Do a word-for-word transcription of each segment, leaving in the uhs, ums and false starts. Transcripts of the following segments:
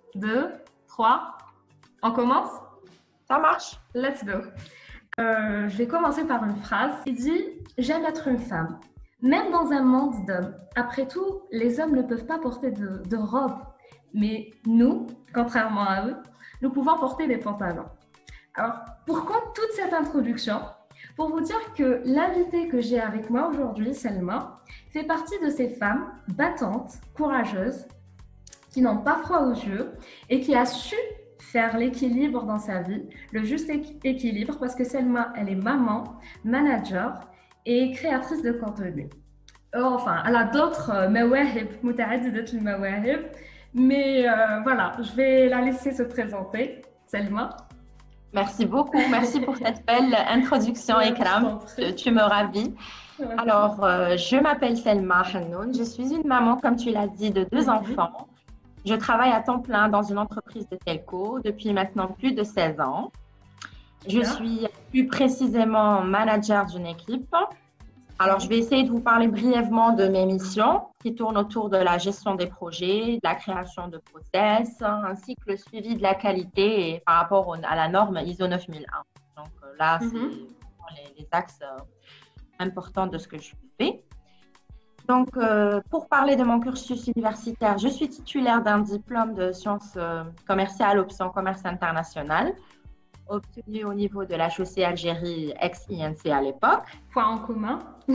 deux, trois. On commence? Ça marche. Let's go. Euh, je vais commencer par une phrase qui dit « J'aime être une femme, même dans un monde d'hommes. Après tout, les hommes ne peuvent pas porter de, de robe, mais nous, contrairement à eux, nous pouvons porter des pantalons. » Alors, pourquoi toute cette introduction? Pour vous dire que l'invitée que j'ai avec moi aujourd'hui, Selma, fait partie de ces femmes battantes, courageuses, qui n'ont pas froid aux yeux et qui a su faire l'équilibre dans sa vie, le juste équilibre, parce que Selma, elle est maman, manager et créatrice de contenu. Enfin, elle a d'autres mawahib, mutaaddidat al-mawahib, mais euh, voilà, je vais la laisser se présenter. Selma. Merci beaucoup, merci pour cette belle introduction, Ikram, tu, tu me ravis. Alors, euh, je m'appelle Selma Hannoun, je suis une maman, comme tu l'as dit, de deux enfants. Je travaille à temps plein dans une entreprise de telco depuis maintenant plus de seize ans. Je suis plus précisément manager d'une équipe. Alors, je vais essayer de vous parler brièvement de mes missions qui tournent autour de la gestion des projets, de la création de process, ainsi que le suivi de la qualité et par rapport au, à la norme I S O neuf mille un. Donc là, c'est mm-hmm. les, les axes importants de ce que je fais. Donc, euh, pour parler de mon cursus universitaire, je suis titulaire d'un diplôme de sciences euh, commerciales, option commerce international, obtenu au niveau de l'H E C Algérie ex-I N C à l'époque. Point en commun.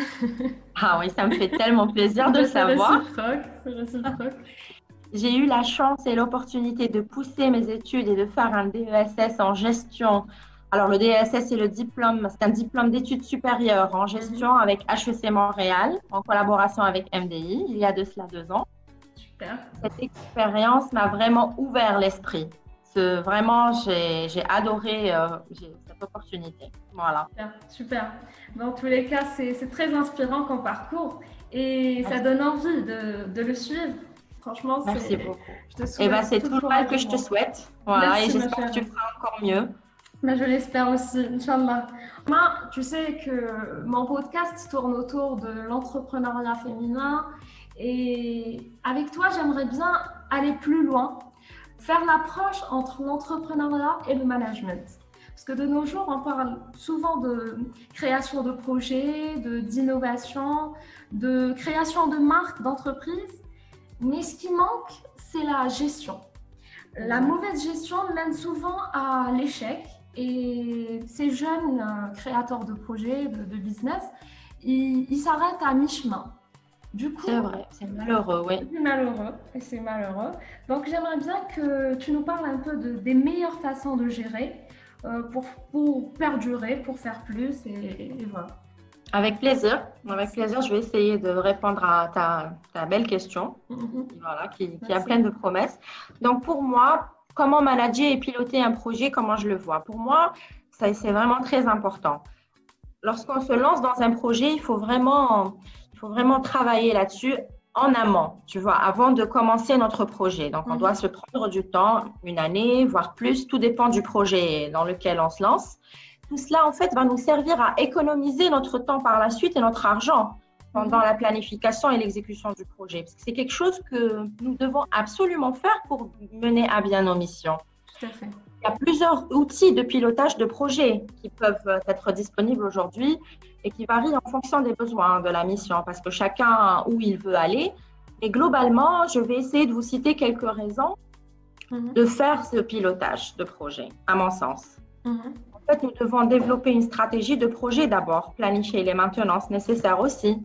Ah oui, ça me fait tellement plaisir de le savoir. C'est réciproque. J'ai eu la chance et l'opportunité de pousser mes études et de faire un D E S S en gestion. Alors, le D E S S, c'est le diplôme, c'est un diplôme d'études supérieures en gestion mm-hmm. avec H E C Montréal, en collaboration avec M D I, il y a de cela deux ans. Super. Cette expérience m'a vraiment ouvert l'esprit. Vraiment, j'ai, j'ai adoré euh, j'ai cette opportunité. Voilà. Super, super. Dans tous les cas, c'est, c'est très inspirant comme parcours et Merci. Ça donne envie de, de le suivre. Franchement, c'est… Merci beaucoup. Je te souhaite et ben, c'est tout le mal que je te souhaite. Voilà, Merci, et j'espère que tu feras encore mieux. Mais je l'espère aussi, Inch'Allah. Moi, tu sais que mon podcast tourne autour de l'entrepreneuriat féminin et avec toi, j'aimerais bien aller plus loin. Faire l'approche entre l'entrepreneuriat et le management. Parce que de nos jours, on parle souvent de création de projets, de, d'innovation, de création de marques, d'entreprises. Mais ce qui manque, c'est la gestion. La mauvaise gestion mène souvent à l'échec. Et ces jeunes créateurs de projets, de, de business, ils, ils s'arrêtent à mi-chemin. Du coup, c'est vrai, c'est malheureux, oui. C'est malheureux, et c'est malheureux. Donc, j'aimerais bien que tu nous parles un peu de, des meilleures façons de gérer euh, pour, pour perdurer, pour faire plus, et, et voilà. Avec plaisir, avec plaisir, je vais essayer de répondre à ta, ta belle question, mm-hmm. voilà, qui, qui a plein de promesses. Donc, pour moi, comment manager et piloter un projet, comment je le vois? Pour moi, ça, c'est vraiment très important. Lorsqu'on se lance dans un projet, il faut vraiment… Il faut vraiment travailler là-dessus en amont, tu vois, avant de commencer notre projet. Donc, on mmh. doit se prendre du temps, une année, voire plus, tout dépend du projet dans lequel on se lance. Tout cela, en fait, va nous servir à économiser notre temps par la suite et notre argent pendant mmh. la planification et l'exécution du projet. Parce que c'est quelque chose que nous devons absolument faire pour mener à bien nos missions. Tout à fait. Il y a plusieurs outils de pilotage de projet qui peuvent être disponibles aujourd'hui et qui varient en fonction des besoins de la mission parce que chacun où il veut aller. Et globalement, je vais essayer de vous citer quelques raisons mm-hmm. de faire ce pilotage de projet, à mon sens. Mm-hmm. En fait, nous devons développer une stratégie de projet d'abord, planifier les maintenances nécessaires aussi.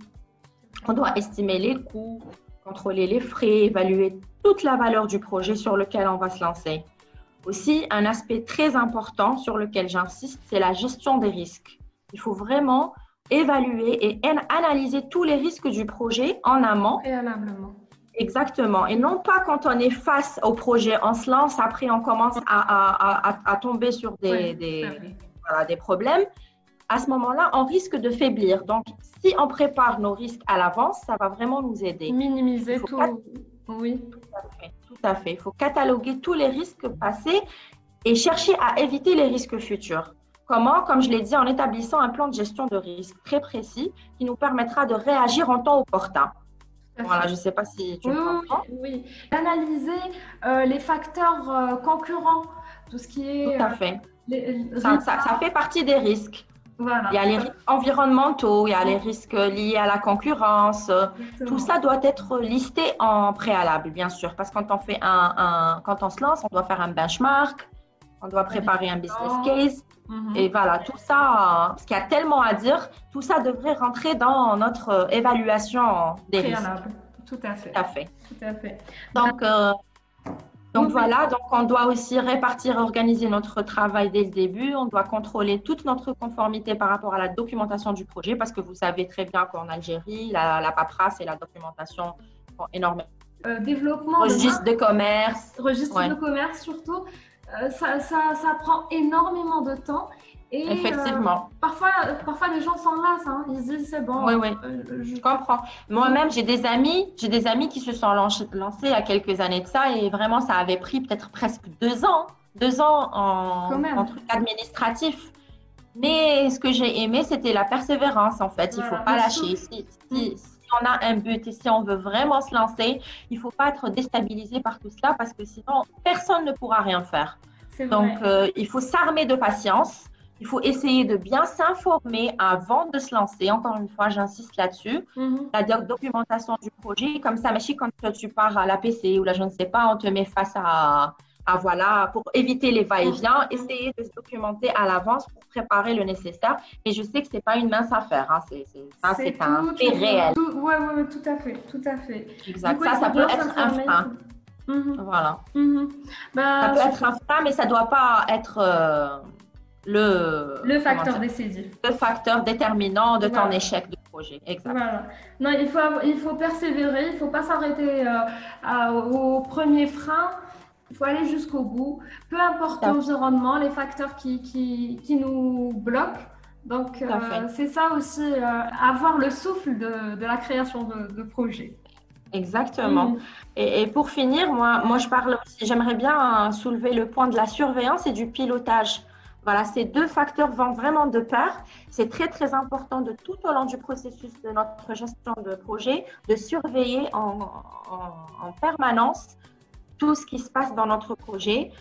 On doit estimer les coûts, contrôler les frais, évaluer toute la valeur du projet sur lequel on va se lancer. Aussi, un aspect très important sur lequel j'insiste, c'est la gestion des risques. Il faut vraiment évaluer et analyser tous les risques du projet en amont. Préalablement. Exactement. Et non pas quand on est face au projet, on se lance, après on commence à, à, à, à tomber sur des, oui, des, voilà, des problèmes. À ce moment-là, on risque de faiblir. Donc, si on prépare nos risques à l'avance, ça va vraiment nous aider. Minimiser tout. Cat... Oui. Tout à fait. Tout à fait. Il faut cataloguer tous les risques passés et chercher à éviter les risques futurs. Comment? Comme je l'ai dit, en établissant un plan de gestion de risque très précis qui nous permettra de réagir en temps opportun. Voilà, je ne sais pas si tu oui, me comprends. Oui, oui. Analyser euh, les facteurs euh, concurrents, tout ce qui est… Tout à euh, fait. les, Ça, ça, ça fait partie des risques. Il y voilà. a les risques environnementaux, il y a les risques liés à la concurrence. Tout Exactement. ça doit être listé en préalable, bien sûr, parce que quand on fait un, un- quand on se lance, on doit faire un benchmark, on doit préparer un business case. Mhm. Et voilà, tout ça, parce qu'il y a tellement à dire, tout ça devrait rentrer dans notre évaluation des Préalable. risques. Tout à fait. Tout à fait. Tout à fait. Donc, euh, Donc Oui, voilà, donc on doit aussi répartir, organiser notre travail dès le début. On doit contrôler toute notre conformité par rapport à la documentation du projet parce que vous savez très bien qu'en Algérie, la, la paperasse et la documentation sont énormément. Euh, développement Registre de de commerce. Registre Ouais. de commerce surtout, euh, ça, ça, ça prend énormément de temps. Et Effectivement. euh, parfois, parfois, les gens s'en lassent. Hein. Ils se disent, c'est bon. Oui, oui. Euh, je... je comprends. Moi-même, j'ai des amis, j'ai des amis qui se sont lancés il y a quelques années de ça et vraiment, ça avait pris peut-être presque deux ans, deux ans en, en truc administratif. Mais ce que j'ai aimé, c'était la persévérance, en fait. Il ne voilà, faut pas lâcher. Si, si, si on a un but et si on veut vraiment se lancer, il ne faut pas être déstabilisé par tout cela parce que sinon, personne ne pourra rien faire. Donc, euh, il faut s'armer de patience. Il faut essayer de bien s'informer avant de se lancer. Encore une fois, j'insiste là-dessus. Mm-hmm. La documentation du projet, comme ça, mais quand tu pars à l'A P C ou là, je ne sais pas, on te met face à, à voilà, pour éviter les va-et-vient, mm-hmm. essayer de se documenter à l'avance pour préparer le nécessaire. Et je sais que ce n'est pas une mince affaire. Hein. C'est, c'est, ça, c'est, c'est un fait réel. Oui, oui, ouais, tout à fait. Tout à fait. Exact. Coup, ça, ça peut être un frein. Mm-hmm. Voilà. Mm-hmm. Bah, ça peut être un frein, mais ça ne doit pas être… Euh, Le, le facteur décisif. Le facteur déterminant de ton voilà. échec de projet. Exact. Voilà. Non, il faut, il faut persévérer, il ne faut pas s'arrêter euh, à, au premier frein, il faut aller jusqu'au bout, peu importe l'environnement, les facteurs qui, qui, qui nous bloquent. Donc, euh, c'est ça aussi, euh, avoir le souffle de, de la création de, de projet. Exactement. Mmh. Et, et pour finir, moi, moi je parle aussi, j'aimerais bien soulever le point de la surveillance et du pilotage. Voilà, ces deux facteurs vont vraiment de pair. C'est très, très important de tout au long du processus de notre gestion de projet, de surveiller en, en, en permanence tout ce qui se passe dans notre projet.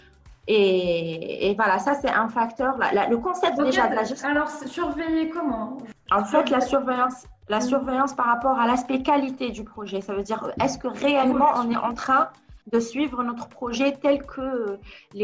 Et, et voilà, ça, c'est un facteur. La, la, le concept okay, déjà de la gestion. Alors, surveiller comment? En fait, la surveillance, la surveillance par rapport à l'aspect qualité du projet. Ça veut dire, est-ce que réellement on est en train de suivre notre projet tel que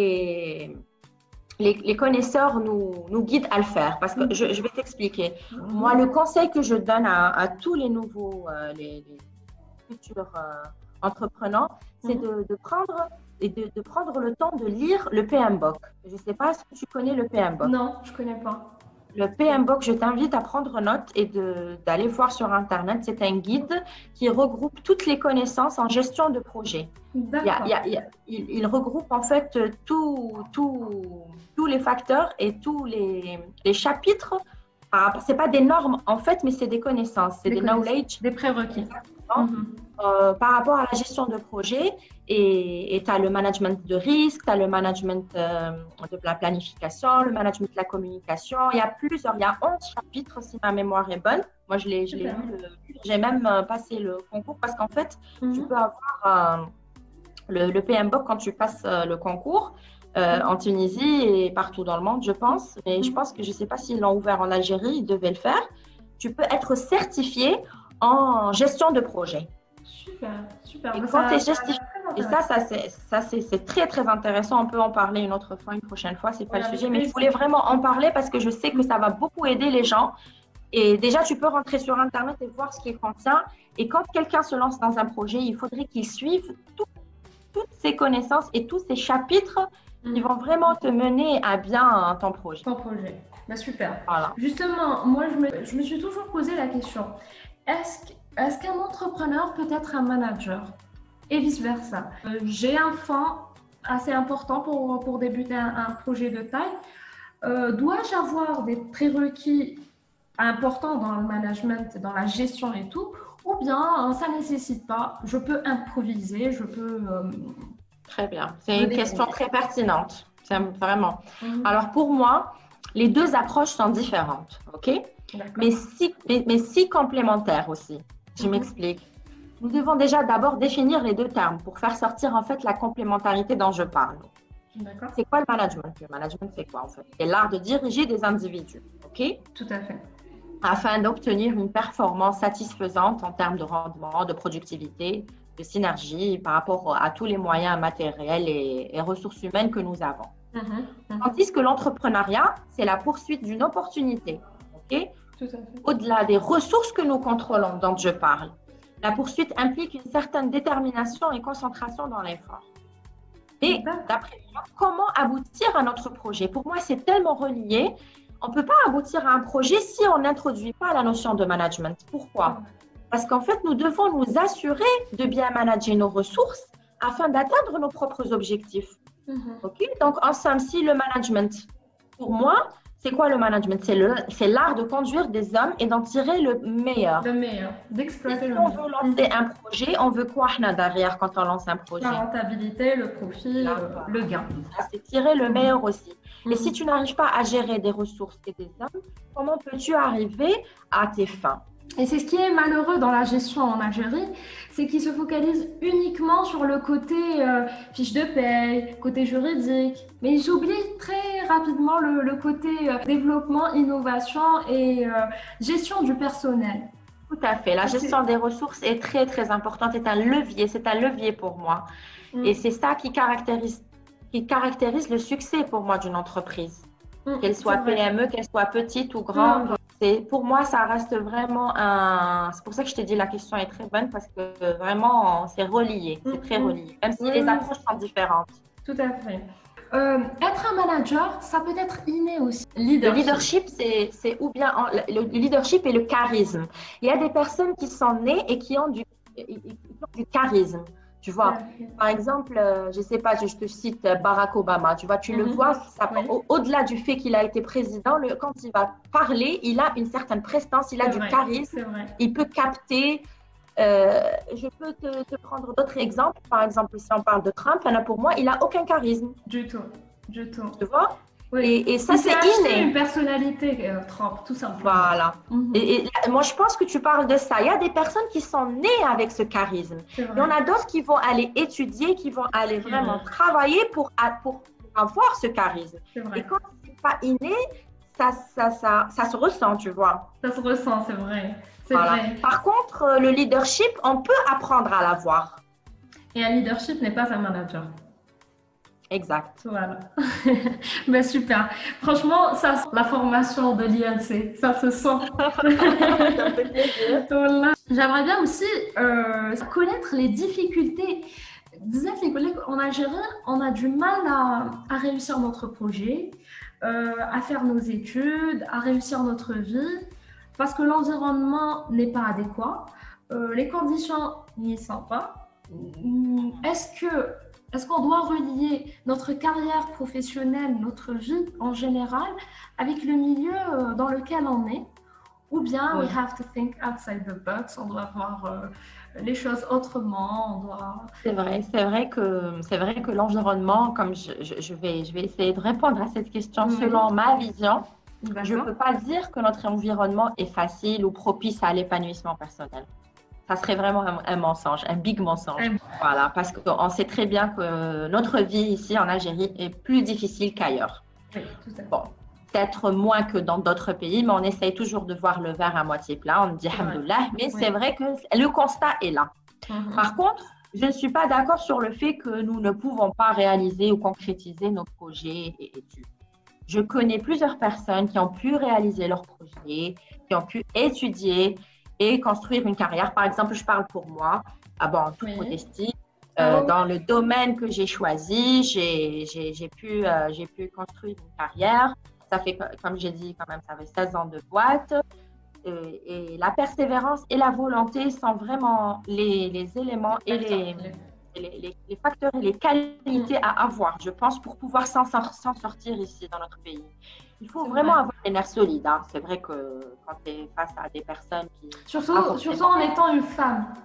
les… Les, les connaisseurs nous, nous guident à le faire. Parce que je, je vais t'expliquer. Mm-hmm. Moi, le conseil que je donne à, à tous les nouveaux, euh, les, les futurs euh, entrepreneurs, mm-hmm. c'est de, de, prendre, et de, de prendre le temps de lire le P M B O K. Je ne sais pas si tu connais le P M B O K. Non, je ne connais pas. Le P M B O K, je t'invite à prendre note et de, d'aller voir sur Internet. C'est un guide qui regroupe toutes les connaissances en gestion de projet. D'accord. Il, y a, il, y a, il, il regroupe en fait tout, tout, tous les facteurs et tous les, les chapitres. Ce n'est pas des normes en fait, mais c'est des connaissances, c'est des, des knowledge. Des prérequis. Mm-hmm. Euh, par rapport à la gestion de projet. Et tu as le management de risque, tu as le management euh, de la planification, le management de la communication. Il y a plusieurs, il y a onze chapitres si ma mémoire est bonne. Moi, je l'ai, je l'ai lu, j'ai même euh, passé le concours parce qu'en fait, mm-hmm. tu peux avoir euh, le, le P M B O K quand tu passes euh, le concours euh, mm-hmm. en Tunisie et partout dans le monde, je pense. Mais mm-hmm. je pense que je ne sais pas s'ils l'ont ouvert en Algérie, ils devaient le faire. Tu peux être certifié en gestion de projet. Super, super. Et quand tu es justifié, et ça, ça, c'est, ça c'est, c'est très, très intéressant. On peut en parler une autre fois, une prochaine fois, c'est pas voilà, le sujet. Mais je voulais vraiment en parler parce que je sais que ça va beaucoup aider les gens. Et déjà, tu peux rentrer sur Internet et voir ce qu'il contient. Et quand quelqu'un se lance dans un projet, il faudrait qu'il suive tout, toutes ces connaissances et tous ces chapitres mmh. qui vont vraiment te mener à bien ton projet. Ton projet. Bah, super. Voilà. Justement, moi, je me, je me suis toujours posé la question. Est-ce que Est-ce qu'un entrepreneur peut être un manager et vice-versa? euh, J'ai un fonds assez important pour, pour débuter un, un projet de taille. Euh, dois-je avoir des prérequis importants dans le management, dans la gestion et tout, ou bien ça ne nécessite pas? Je peux improviser, je peux… Euh, très bien. C'est une question très pertinente. C'est vraiment. Mm-hmm. Alors pour moi, les deux approches sont différentes, ok? Mais si, mais, mais si complémentaires aussi. Je m'explique. nous devons déjà d'abord définir les deux termes pour faire sortir en fait la complémentarité dont je parle. D'accord. C'est quoi le management? Le management, c'est quoi en fait? C'est l'art de diriger des individus, ok? Tout à fait. Afin d'obtenir une performance satisfaisante en termes de rendement, de productivité, de synergie par rapport à tous les moyens matériels et, et ressources humaines que nous avons. Mmh, mmh. Tandis que l'entrepreneuriat, c'est la poursuite d'une opportunité, ok? Tout à fait. Au-delà des ressources que nous contrôlons, dont je parle, la poursuite implique une certaine détermination et concentration dans l'effort. Et d'après moi, comment aboutir à notre projet? Pour moi, c'est tellement relié. On ne peut pas aboutir à un projet si on n'introduit pas la notion de management. Pourquoi? Parce qu'en fait, nous devons nous assurer de bien manager nos ressources afin d'atteindre nos propres objectifs. Mm-hmm. Okay? Donc, en somme, si le management, pour moi, c'est quoi le management? C'est l'art de conduire des hommes et d'en tirer le meilleur. Le meilleur, d'exploiter si le on meilleur. veut lancer un projet, on veut quoi derrière quand on lance un projet? La rentabilité, le profit, Là, le, le gain. C'est tirer le meilleur aussi. Mm-hmm. Et si tu n'arrives pas à gérer des ressources et des hommes, comment peux-tu arriver à tes fins? Et c'est ce qui est malheureux dans la gestion en Algérie, c'est qu'ils se focalisent uniquement sur le côté euh, fiche de paye, côté juridique, mais ils oublient très rapidement le, le côté euh, développement, innovation et euh, gestion du personnel. Tout à fait. La gestion des ressources est très, très importante. C'est un levier. C'est un levier pour moi. Mm. Et c'est ça qui caractérise, qui caractérise le succès pour moi d'une entreprise. Mm. Qu'elle soit P M E, qu'elle soit petite ou grande. Mm. Pour moi, ça reste vraiment un... C'est pour ça que je t'ai dit la question est très bonne parce que vraiment, c'est relié. C'est très relié. Même si mm. les approches sont différentes. Tout à fait. Euh, être un manager, ça peut être inné aussi. Leadership. Le leadership, c'est ou bien en, le leadership et le charisme. Il y a des personnes qui sont nées et qui ont du, qui ont du charisme. Tu vois, ouais. Par exemple, euh, je ne sais pas, je, je te cite Barack Obama. Tu vois, tu mm-hmm. le vois, ça, ouais. au, au-delà du fait qu'il a été président, le, quand il va parler, il a une certaine prestance, il a du vrai. charisme, il peut capter. Euh, je peux te, te prendre d'autres exemples. Par exemple, si on parle de Trump, là, pour moi, il n'a aucun charisme. Du tout, du tout. Tu vois? Oui. Et, et ça, c'est inné. Une personnalité, euh, Trump, tout simplement. Voilà. Mm-hmm. et, et moi, je pense que tu parles de ça. Il y a des personnes qui sont nées avec ce charisme. Il y en a d'autres qui vont aller étudier, qui vont aller vraiment mmh. travailler pour, pour avoir ce charisme. Et quand c'est pas inné, ça, ça, ça, ça se ressent, tu vois. Ça se ressent, c'est vrai. Voilà. vrai. Par contre, le leadership, on peut apprendre à l'avoir. Et un leadership n'est pas un manager. Exact. Voilà. Ben super. Franchement, ça, la formation de l'I N C, ça se sent. Ça fait plaisir. Voilà. J'aimerais bien aussi euh, connaître les difficultés. Vous êtes les collègues en Algérie, on a du mal à, à réussir notre projet, euh, à faire nos études, à réussir notre vie, parce que l'environnement n'est pas adéquat, euh, les conditions n'y sont pas. Est-ce que Est-ce qu'on doit relier notre carrière professionnelle, notre vie en général, avec le milieu dans lequel on est? Ou bien, oui. we have to think outside the box, on doit voir euh, les choses autrement, on doit... C'est vrai, c'est vrai que, c'est vrai que l'environnement, comme je, je, je, vais, je vais essayer de répondre à cette question mmh. selon ma vision, je ne peux pas dire que notre environnement est facile ou propice à l'épanouissement personnel. Ça serait vraiment un, un mensonge, un big mensonge. Mmh. Voilà, parce qu'on sait très bien que notre vie ici en Algérie est plus difficile qu'ailleurs. Oui, tout à fait. Bon, peut-être moins que dans d'autres pays, mais on essaye toujours de voir le verre à moitié plein. On dit alhamdoulilah, mais oui. c'est vrai que le constat est là. Mmh. Par contre, je ne suis pas d'accord sur le fait que nous ne pouvons pas réaliser ou concrétiser nos projets et études. Je connais plusieurs personnes qui ont pu réaliser leurs projets, qui ont pu étudier et construire une carrière. Par exemple, je parle pour moi, ah bon, en toute oui. modestie, euh, oh. dans le domaine que j'ai choisi, j'ai, j'ai, j'ai, pu, euh, j'ai pu construire une carrière. Ça fait, comme j'ai dit, quand même, ça fait seize ans de boîte. Et, et la persévérance et la volonté sont vraiment les, les éléments et les, les, les, les facteurs et les qualités à avoir, je pense, pour pouvoir s'en, s'en sortir ici dans notre pays. Il faut c'est vraiment vrai. avoir les nerfs solides. Hein. C'est vrai que quand tu es face à des personnes qui... Surtout, surtout en étant une femme.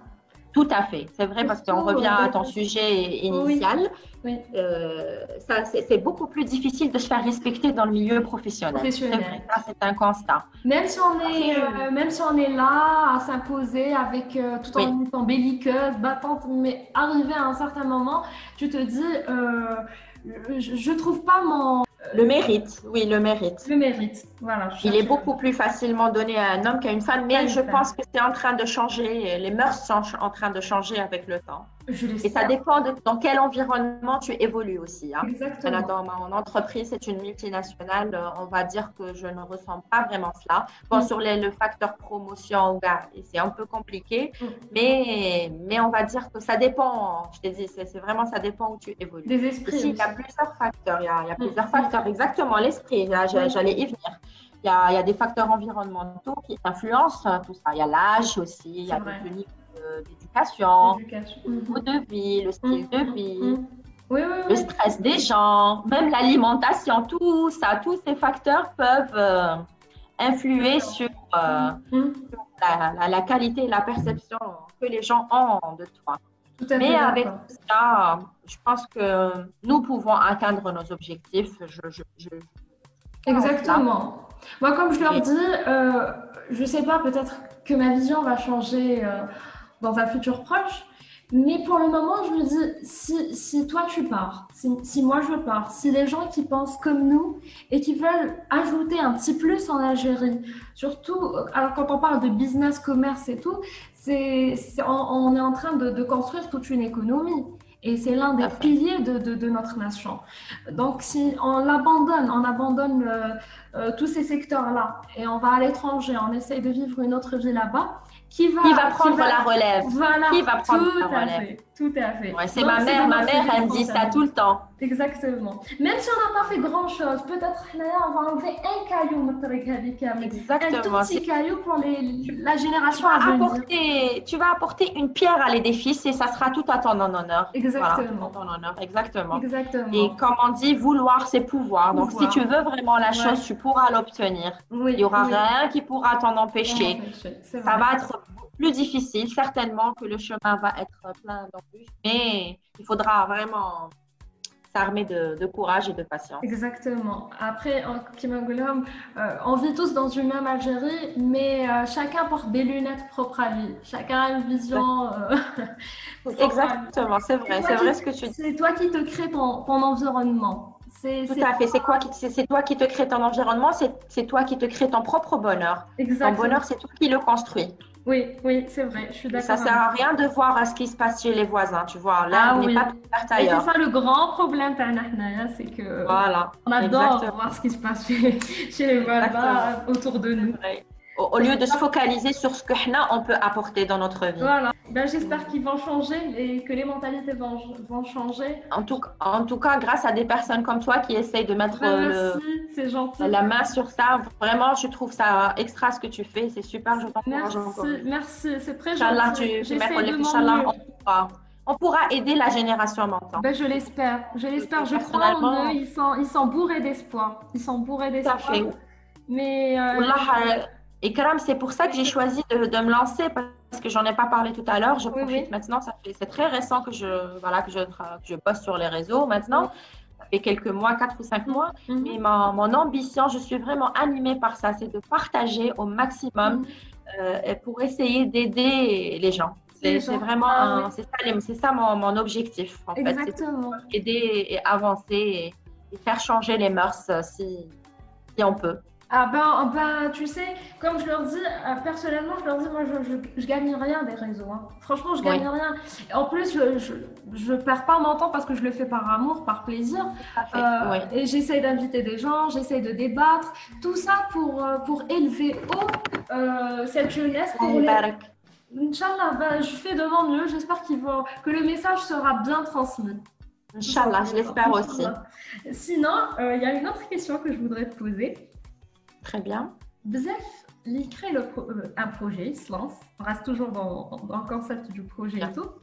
Tout à fait, c'est vrai parce qu'on Surtout, revient euh, à ton sujet initial. oui, oui, Euh, ça, c'est c'est beaucoup plus difficile de se faire respecter dans le milieu professionnel. C'est vrai, professionnel. ça c'est un constat. Même si on est, Après, euh, même si on est là à s'imposer avec euh, tout oui, en étant belliqueuse, battante, mais arrivé à un certain moment, tu te dis, euh, je, je trouve pas mon le mérite, oui, le mérite. le mérite. Voilà, je Il est cherchais le beaucoup mot. plus facilement donné à un homme qu'à une femme, Pas mais une je femme. pense que c'est en train de changer. Les mœurs sont en train de changer avec le temps. Je Et ça l'espère. dépend de dans quel environnement tu évolues aussi. Hein. Maintenant, Exactement. dans mon entreprise, c'est une multinationale. euh, On va dire que je ne ressens pas vraiment cela. Bon, Mm, sur les- le facteur promotion, gars, c'est un peu compliqué, mm. mais, mais on va dire que ça dépend. Je t'ai dit, c'est c'est vraiment ça dépend où tu évolues. Des esprits Ici, il y a aussi. plusieurs facteurs. Il y a, il y a Mm, plusieurs mm. facteurs. Exactement, l'esprit. Là, j'a- Oui, j'allais y venir. Il y, a, il y a des facteurs environnementaux qui influencent euh, tout ça. Il y a l'âge aussi, il y c'est a vrai. le niveau de- d'éducation, L'éducation. le niveau Mhm. de vie, le Mm, style de mm, vie, mm. Oui, oui, le oui. stress des gens, même l'alimentation, tout ça, tous ces facteurs peuvent euh, influer sur euh, Mm, mm. la, la- la qualité et la perception que les gens ont de toi. Tout à Mais fait avec d'accord. tout ça, je pense que nous pouvons atteindre nos objectifs. Je, je, je crois en cela. Exactement. Moi, comme je leur Et dis, euh, je sais pas, peut-être que ma vision va changer euh, dans un futur proche, mais pour le moment, je me dis, si, si toi tu pars, si, si moi je pars, si les gens qui pensent comme nous et qui veulent ajouter un petit plus en Algérie, surtout euh, alors quand on parle de business, commerce et tout, c'est, c'est- on, on est en train de, de construire toute une économie. Et c'est l'un tout des à fait. piliers de, de, de notre nation. Donc, si on l'abandonne, on abandonne euh, euh, tous ces secteurs-là et on va à l'étranger, on essaye de vivre une autre vie là-bas, qui va, Qui va qui prendre va, la relève? voilà, Qui va prendre tout la à relève? fait, tout à fait. Ouais, c'est Donc, ma c'est de mère. Ma notre mère, elle me dit ça tout responsabilité. le temps. Exactement. Même si on n'a pas fait grand-chose, peut-être là, on va enlever un caillou, Motrek Hadik Kamel. Un tout Exactement. petit C'est- caillou pour les, Tu, la tu génération à vas venir. apporter, tu vas apporter une pierre à l'édifice et ça sera tout à ton honneur. Voilà, tout à Exactement. ton honneur. Exactement. Et Exactement. comme on dit, vouloir, c'est pouvoir. Donc, si tu Pouvoir. veux vraiment la Ouais. chose, tu pourras l'obtenir. Il n'y Oui, aura oui. rien qui pourra t'en On empêcher. empêcher, c'est Ça vrai. va être plus difficile, certainement que le chemin va être plein d'embûches, mais il faudra vraiment s'armer de, de courage et de patience. Exactement. Après, en Kimangolom, euh, on vit tous dans une même Algérie, mais euh, chacun porte des lunettes propres à lui. Chacun a une vision euh, propre à lui. Exactement, c'est C'est vrai, toi c'est qui, vrai ce que tu dis. c'est toi qui te crée ton, ton environnement. C'est, Tout c'est à fait. C'est quoi qui, c'est c'est toi qui te crée ton environnement, c'est c'est toi qui te crée ton propre bonheur. Ton exactement. bonheur, c'est toi qui le construis. Oui, oui, c'est vrai. Je suis Et ça d'accord sert avec à toi. rien de voir à ce qui se passe chez les voisins. Tu vois, Ah l'herbe n'est pas oui. plus verte Et c'est ailleurs. ça le grand problème, Tana Hnaya, c'est que Voilà, on adore exactement, voir ce qui se passe chez, chez les exactement. voisins autour de C'est nous. vrai. Au, au lieu de se focaliser sur ce que Hna, on peut apporter dans notre vie. Voilà. Ben, j'espère qu'ils vont changer et que les mentalités vont, vont changer. En tout, en tout cas, grâce à des personnes comme toi qui essayent de mettre Ben, euh, merci, le, c'est gentil. la main sur ça, vraiment, je trouve ça extra ce que tu fais. C'est super, je t'encourage encore. Merci, merci, c'est très Inch'Allah, gentil. tu, tu mets J'essaie de mon Inch'Allah, mieux. on pourra, on pourra aider la génération maintenant. Ben, je l'espère, je l'espère. Je crois en eux. Personnellement, Ils sont, ils sont bourrés d'espoir. Ils sont bourrés tout à d'espoir. fait. Mais euh, Wallah, euh, Ikram, c'est pour ça que j'ai choisi de, de me lancer parce que j'en ai pas parlé tout à l'heure. Je oui, profite oui. maintenant. Ça fait, c'est très récent que je, voilà, que je, tra- que je poste sur les réseaux Oui. maintenant. Ça fait quelques mois, quatre ou cinq mois. Mhm, Mais mon, mon ambition, je suis vraiment animée par ça, c'est de partager au maximum mhm. euh, pour essayer d'aider les gens. Les C'est c'est gens. vraiment Ah un- oui, c'est ça, les- c'est ça mon, mon objectif en fait, c'est exactement. d'aider et avancer et, et faire changer les mœurs euh, si, si on peut. Ah ben, ben, tu sais, comme je leur dis, euh, personnellement, je leur dis, moi, je, je, je gagne rien des réseaux. Hein. Franchement, je gagne Oui, rien. En plus, je, je, je perds pas mon temps parce que je le fais par amour, par plaisir. tout à fait. Euh, Oui. et j'essaie d'inviter des gens, j'essaie de débattre. Tout ça pour, euh, pour élever haut euh, cette jeunesse. Allah Pour les... يبارك. Inch'Allah, ben, je fais de mon mieux. J'espère qu'ils vont, que le message sera bien transmis. Tout Inch'Allah, je simplement. l'espère aussi. Inch'Allah. Sinon, euh, il y a une autre question que je voudrais te poser. Très bien. Bzef, il crée le pro- euh, un projet, il se lance, on reste toujours dans, dans le concept du projet et Bien. tout.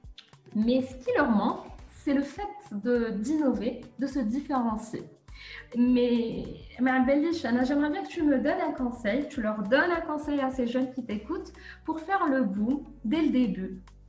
Mais ce qui leur manque, c'est le fait de, d'innover, de se différencier. Mais, mais Abdelish, Anna, j'aimerais bien que tu me donnes un conseil, tu leur donnes un conseil à ces jeunes qui t'écoutent pour faire le boom dès le début.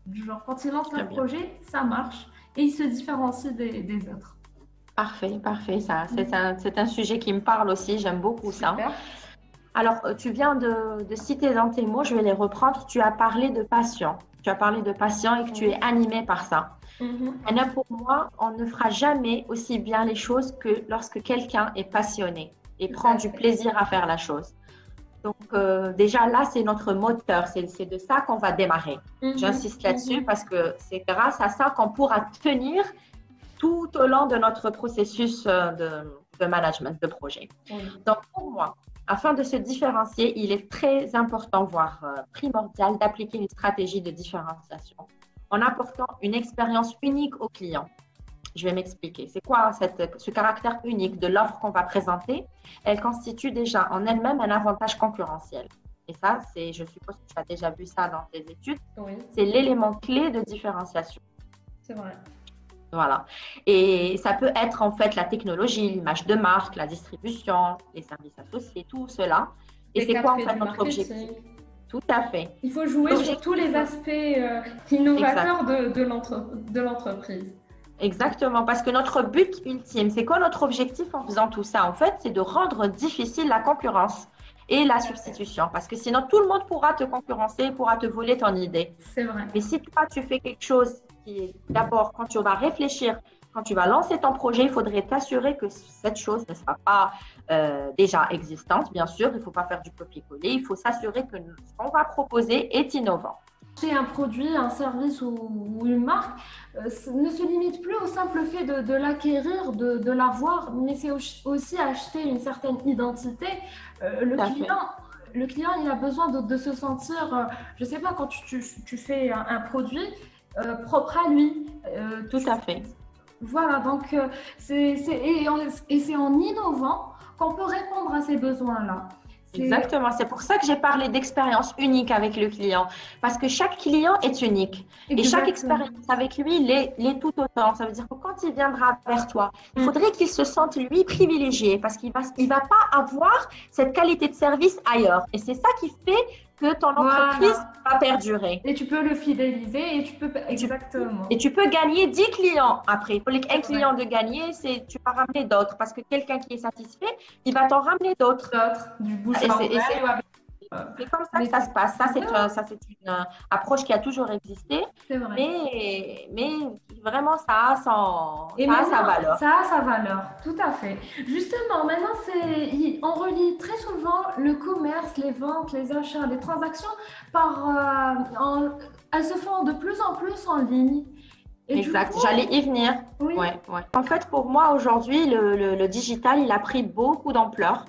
Genre, quand il lance Très un bien. projet, ça marche et il se différencie des, des autres. Parfait, parfait. Ça, c'est un, c'est un sujet qui me parle aussi. J'aime beaucoup ça. Super. Alors, euh, tu viens de, de citer dans tes mots, je vais les reprendre. Tu as parlé de passion. Tu as parlé de passion et que tu es animé par ça. Mhm. Et là, pour moi, on ne fera jamais aussi bien les choses que lorsque quelqu'un est passionné et Tout prend à du fait. plaisir à faire la chose. Donc, euh, déjà là, c'est notre moteur. C'est c'est de ça qu'on va démarrer. Mhm. J'insiste là-dessus Mhm. parce que c'est grâce à ça qu'on pourra tenir tout au long de notre processus euh, de, de management de projet. Oui. Donc, pour moi, afin de se différencier, il est très important, voire euh, primordial, d'appliquer une stratégie de différenciation en apportant une expérience unique au client. Je vais m'expliquer. C'est quoi cette, ce caractère unique de l'offre qu'on va présenter? Elle constitue déjà en elle-même un avantage concurrentiel. Et ça, c'est, je suppose que tu as déjà vu ça dans tes études, Oui, c'est l'élément clé de différenciation. c'est vrai. Voilà. Et ça peut être en fait la technologie, l'image de marque, la distribution, les services associés, tout cela. Et Les c'est quoi en quatre P fait du notre objectif? marketing. Tout à fait. Il faut jouer sur tous les aspects euh, Exact. innovateurs de, de l'entre- de l'entreprise. Exactement, parce que notre but ultime, c'est quoi notre objectif en faisant tout ça? En fait, c'est de rendre difficile la concurrence et la substitution, parce que sinon tout le monde pourra te concurrencer, pourra te voler ton idée. C'est vrai. Mais si toi, tu fais quelque chose qui est d'abord, quand tu vas réfléchir, quand tu vas lancer ton projet, il faudrait t'assurer que cette chose ne sera pas euh, déjà existante, bien sûr. Il ne faut pas faire du copier-coller. Il faut s'assurer que ce qu'on va proposer est innovant. Acheter un produit, un service ou, ou une marque euh, ne se limite plus au simple fait de, de l'acquérir, de, de l'avoir, mais c'est aussi acheter une certaine identité. Euh, le, client, le client, il a besoin de, de se sentir, euh, je ne sais pas, quand tu, tu, tu fais un, un produit euh, propre à lui. Euh, Tout tu, à fait. Voilà, donc euh, c'est, c'est, et, et c'est en innovant qu'on peut répondre à ces besoins-là. Exactement, c'est pour ça que j'ai parlé d'expérience unique avec le client, parce que chaque client est unique. Exactement. Et chaque expérience avec lui l'est, l'est tout autant. Ça veut dire que quand il viendra vers toi, il faudrait qu'il se sente lui privilégié, parce qu'il va, il va pas avoir cette qualité de service ailleurs. Et c'est ça qui fait que ton entreprise voilà. va perdurer. Et tu peux le fidéliser et tu peux exactement. Et tu peux gagner dix clients après. Pour un client de gagner, c'est tu vas ramener d'autres parce que quelqu'un qui est satisfait, il va t'en ramener d'autres. D'autres, du bouche à oreille. C'est comme ça que ça se passe. Ça, c'est, ouais. ça, c'est une euh, approche qui a toujours existé. C'est vrai. Mais, mais vraiment, ça a, son, Et ça a sa valeur. Ça a sa valeur, tout à fait. Justement, maintenant, c'est, on relie très souvent le commerce, les ventes, les achats, les transactions, par, euh, en, elles se font de plus en plus en ligne. Et exact, coup, j'allais y venir. Oui. Ouais, ouais. En fait, pour moi, aujourd'hui, le, le, le digital, il a pris beaucoup d'ampleur.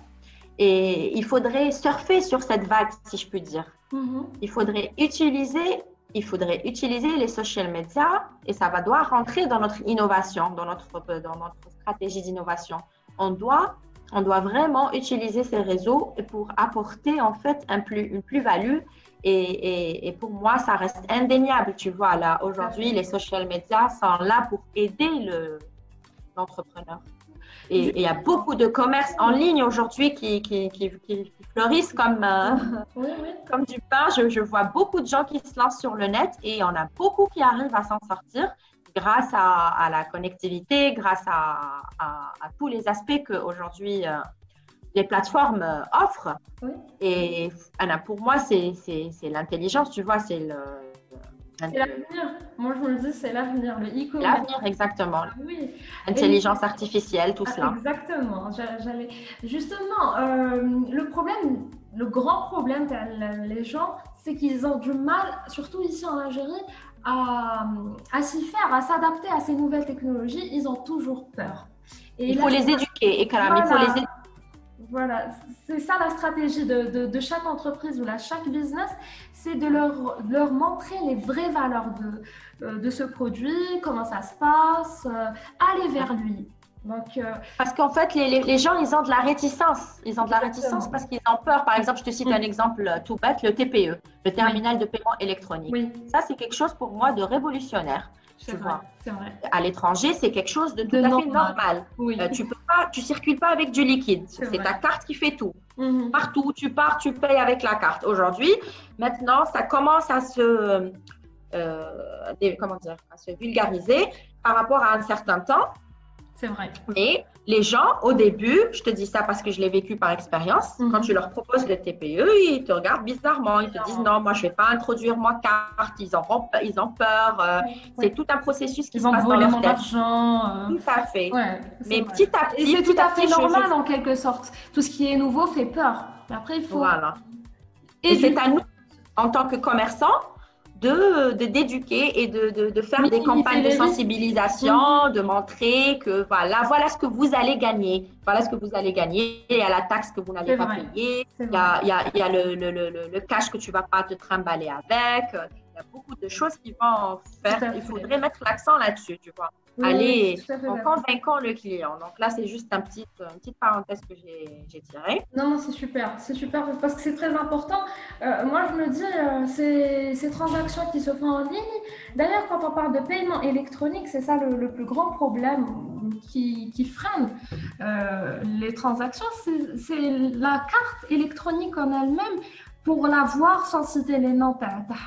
Et il faudrait surfer sur cette vague, si je puis dire. Mm-hmm. Il faudrait utiliser, il faudrait utiliser les social media et ça va devoir rentrer dans notre innovation, dans notre, dans notre stratégie d'innovation. On doit, on doit vraiment utiliser ces réseaux pour apporter en fait un plus, une plus-value. Et, et, et pour moi, ça reste indéniable. Tu vois, là, aujourd'hui, les social media sont là pour aider le, l'entrepreneur. Et il y a beaucoup de commerces en ligne aujourd'hui qui, qui, qui, qui fleurissent comme, euh, oui, oui. comme du pain. Je, je vois beaucoup de gens qui se lancent sur le net et on a beaucoup qui arrivent à s'en sortir grâce à, à la connectivité, grâce à, à, à tous les aspects qu'aujourd'hui euh, les plateformes euh, offrent. Oui. Et Anna, pour moi, c'est, c'est, c'est l'intelligence, tu vois, c'est le... C'est l'avenir. Moi, je vous le dis, c'est l'avenir. Le e-commerce. L'avenir, exactement. Oui. Intelligence Et... artificielle, tout ah, cela. Exactement. J'allais... Justement, euh, le problème, le grand problème que les gens, c'est qu'ils ont du mal, surtout ici en Algérie, à, à s'y faire, à s'adapter à ces nouvelles technologies. Ils ont toujours peur. Et il faut là, les éduquer, et voilà. il faut les éduquer. Voilà, c'est ça la stratégie de, de, de chaque entreprise ou de chaque business, c'est de leur, de leur montrer les vraies valeurs de, de ce produit, comment ça se passe, euh, aller vers lui. Donc, euh... Parce qu'en fait, les, les, les gens, ils ont de la réticence. Ils ont de la réticence parce qu'ils ont peur. Par exemple, je te cite mmh. un exemple tout bête, le T P E, le terminal oui. de paiement électronique. Oui. Ça, c'est quelque chose pour moi de révolutionnaire. C'est tu vrai, vois. c'est vrai. À l'étranger, c'est quelque chose de tout de à normal. fait normal. Oui. Euh, tu peux pas, tu circules pas avec du liquide. C'est, c'est ta carte qui fait tout. Mm-hmm. Partout où tu pars, tu payes avec la carte. Aujourd'hui, maintenant, ça commence à se, euh, des, comment dire, à se vulgariser par rapport à un certain temps. C'est vrai. Mais les gens, au début, je te dis ça parce que je l'ai vécu par expérience, mm-hmm. quand tu leur proposes le T P E, ils te regardent bizarrement. Ils te disent non, moi, je ne vais pas introduire ma carte. Ils, en ont, ils ont peur. Euh, oui. C'est tout un processus qui ils se passe dans leur tête. Argent, euh... Tout à fait. Ouais, mais vrai. petit à petit. Et c'est tout à fait petit, normal je... en quelque sorte. Tout ce qui est nouveau fait peur. Mais après, il faut. Voilà. Et, Et c'est à nous, en tant que commerçants, de, de d'éduquer et de, de, de faire oui, des campagnes de sensibilisation, mmh. de montrer que voilà, voilà ce que vous allez gagner, voilà ce que vous allez gagner, il y a la taxe que vous n'allez pas vrai. payer, il y a, il y a, il y a le, le, le, le cash que tu ne vas pas te trimballer avec, il y a beaucoup de choses qui vont faire, il faudrait mettre l'accent là-dessus, tu vois. Oui, aller oui, en convainquant le client. Donc là, c'est juste un petit, une petite parenthèse que j'ai tirée. Non, c'est super, c'est super parce que c'est très important. Euh, moi, je me dis, euh, ces, ces transactions qui se font en ligne, d'ailleurs, quand on parle de paiement électronique, c'est ça le, le plus grand problème qui, qui freine euh, les transactions, c'est la carte électronique en elle-même. Pour la voir sans citer les noms,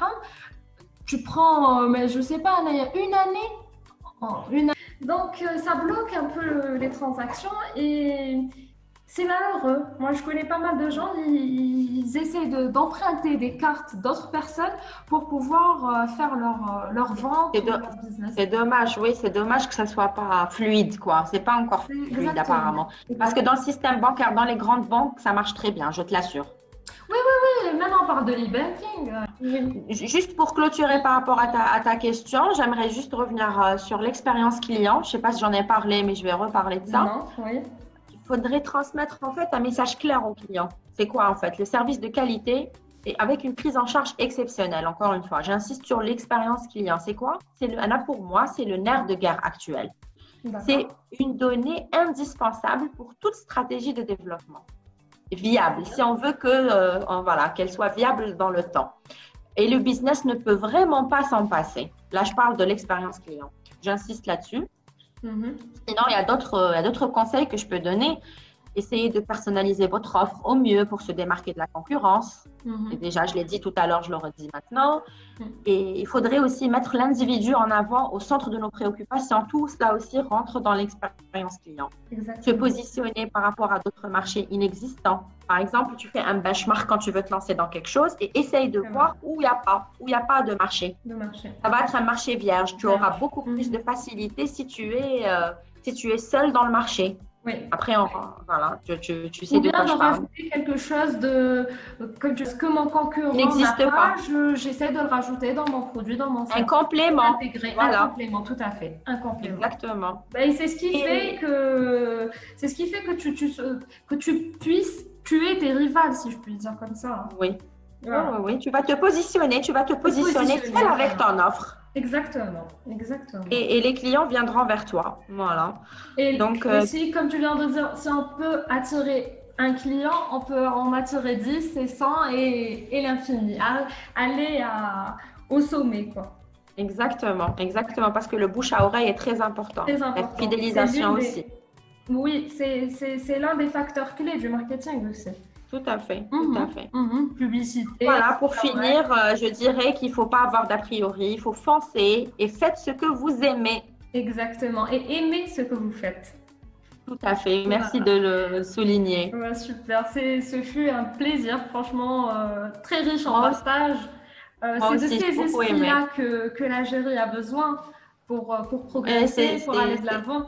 tu prends, mais je sais pas, il y a une année, Une... Donc, euh, ça bloque un peu les transactions et c'est malheureux. Moi, je connais pas mal de gens, ils, ils essaient d'emprunter de, des cartes d'autres personnes pour pouvoir euh, faire leur, leur vente ou leur business. C'est dommage, oui, c'est dommage que ça soit pas fluide, quoi. C'est pas encore fluide, exactement. Apparemment. Parce que dans le système bancaire, dans les grandes banques, ça marche très bien, je te l'assure. Oui, oui, oui. Maintenant, on parle de l'e-banking. Oui. Juste pour clôturer par rapport à ta, à ta question, j'aimerais juste revenir euh, sur l'expérience client. Je ne sais pas si j'en ai parlé, mais je vais reparler de ça. Non, oui. Il faudrait transmettre en fait un message clair au client. C'est quoi en fait? Le service de qualité et avec une prise en charge exceptionnelle. Encore une fois, j'insiste sur l'expérience client. C'est quoi? C'est là pour moi, c'est le nerf de guerre actuel. C'est une donnée indispensable pour toute stratégie de développement. Viable, si on veut que euh, voilà, qu'elle soit viable dans le temps. Et le business ne peut vraiment pas s'en passer. Là, je parle de l'expérience client. J'insiste là-dessus. Mm-hmm. Sinon, il y a d'autres, il y a d'autres conseils que je peux donner. Essayez de personnaliser votre offre au mieux pour se démarquer de la concurrence. Mm-hmm. Et déjà, je l'ai dit tout à l'heure, je le redis maintenant. Mm-hmm. Et il faudrait aussi mettre l'individu en avant au centre de nos préoccupations. Tout cela aussi rentre dans l'expérience client. Exactement. Se positionner par rapport à d'autres marchés inexistants. Par exemple, tu fais un benchmark quand tu veux te lancer dans quelque chose et essaye de voir où il n'y a pas, où il n'y a pas de marché. de marché. Ça va être un marché vierge. Tu auras beaucoup mm-hmm. plus de facilité si tu es, euh, si tu es seul dans le marché. Oui. Après, on, voilà, tu, tu, tu sais de quoi je parle. Rajouter quelque chose de que, que mon concurrent n'existe pas, pas. j'essaie de le rajouter dans mon produit, dans mon service. Un complément. Intégrer. Voilà. Un complément, tout à fait. Un complément. Exactement. Ben, c'est ce qui et... fait que c'est ce qui fait que tu, tu que tu puisses tuer tes rivales, si je puis dire comme ça. Oui. Voilà. Oui, oui, tu vas te positionner, tu vas te positionner, positionner seul avec ton offre. Exactement, exactement. Et, et les clients viendront vers toi, voilà. Et donc, aussi, euh... comme tu viens de dire, si on peut attirer un client, on peut en attirer dix et cent et, et l'infini. Aller à, au sommet, quoi. Exactement, exactement, parce que le bouche à oreille est très important. Très important. La fidélisation des... aussi. Oui, c'est l'un des facteurs clés du marketing aussi. Tout à fait, mmh, tout à fait. Mmh, publicité. Voilà, pour finir, euh, je dirais qu'il ne faut pas avoir d'a priori, il faut foncer et faites ce que vous aimez. Exactement, et aimez ce que vous faites. Tout à fait, merci voilà. de le souligner. Ouais, super, ce fut un plaisir, franchement, euh, très riche en partage. Euh, C'est de ces esprits-là que, que l'Algérie a besoin pour, pour progresser, pour aller de l'avant.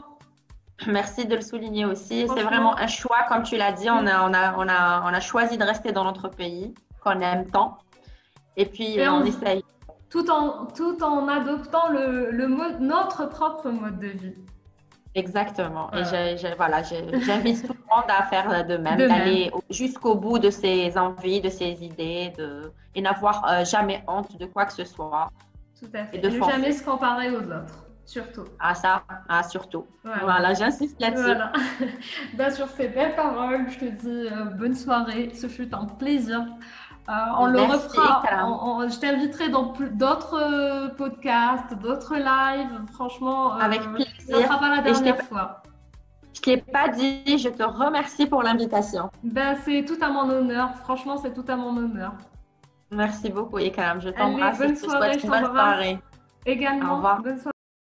Merci de le souligner aussi. C'est vraiment un choix, comme tu l'as dit, on a, on, a, on, a, on a choisi de rester dans notre pays, qu'on aime tant. Et puis, Et on, on essaye. Tout en, tout en adoptant le, le mode, notre propre mode de vie. Exactement. Voilà. Et j'invite voilà, tout le monde à faire de même, d'aller jusqu'au bout de ses envies, de ses idées, de, et n'avoir euh, jamais honte de quoi que ce soit. Tout à fait. Et de ne jamais se comparer aux autres. Surtout. Ah ça, ah surtout. Voilà, voilà j'insiste là-dessus. Voilà. Ben, sur ces belles paroles, je te dis euh, bonne soirée. Ce fut un plaisir. Euh, on Merci, le refera. On, on, je t'inviterai dans d'autres euh, podcasts, d'autres lives. Franchement, euh, avec plaisir. Ce ne sera pas la dernière je fois. Je ne t'ai pas dit, je te remercie pour l'invitation. Ben, c'est tout à mon honneur. Franchement, c'est tout à mon honneur. Merci beaucoup, Ikram. Je Allez, t'embrasse et bonne je te soirée, souhaite je une bonne t'embrasse soirée. Au également. revoir. Bonne soirée.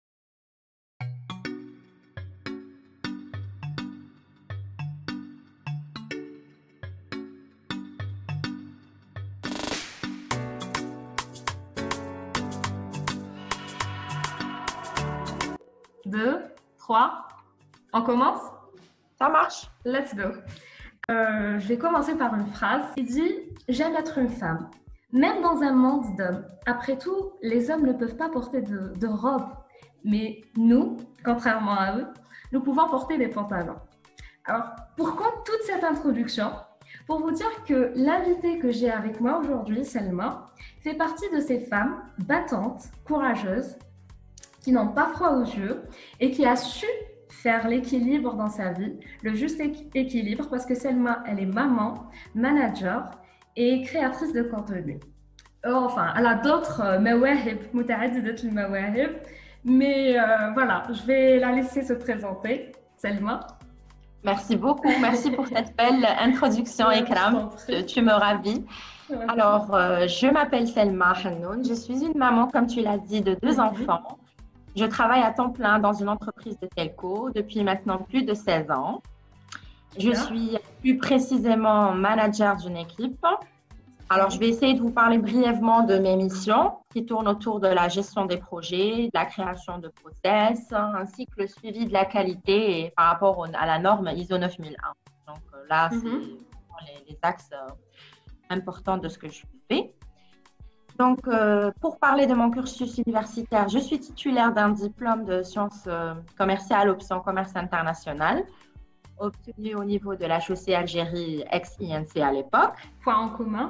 Deux, trois, on commence? Ça marche? Let's go. Euh, je vais commencer par une phrase qui dit « J'aime être une femme, même dans un monde d'hommes. Après tout, les hommes ne peuvent pas porter de, de robe, mais nous, contrairement à eux, nous pouvons porter des pantalons. » Alors, pourquoi toute cette introduction? Pour vous dire que l'invitée que j'ai avec moi aujourd'hui, Selma, fait partie de ces femmes battantes, courageuses, qui n'ont pas froid aux yeux et qui a su faire l'équilibre dans sa vie, le juste équilibre, parce que Selma, elle est maman, manager et créatrice de contenu. Enfin, elle a d'autres mawahib, muta'addidat al-mawahib, mais euh, voilà, je vais la laisser se présenter. Selma. Merci beaucoup, merci pour cette belle introduction, ouais, Ikram. Tu, tu me ravis. Ouais, alors, euh, je m'appelle Selma Hannoun, je suis une maman, comme tu l'as dit, de deux mm-hmm. enfants. Je travaille à temps plein dans une entreprise de telco depuis maintenant plus de seize ans. Je Bien. suis plus précisément manager d'une équipe. Alors, je vais essayer de vous parler brièvement de mes missions qui tournent autour de la gestion des projets, de la création de process, ainsi que le suivi de la qualité et par rapport au, à la norme I S O neuf mille un. Donc là, mm-hmm. c'est les, les axes importants de ce que je fais. Donc, euh, pour parler de mon cursus universitaire, je suis titulaire d'un diplôme de sciences euh, commerciales, option commerce international, obtenu au niveau de la H E C Algérie, ex-I N C à l'époque. Point en commun.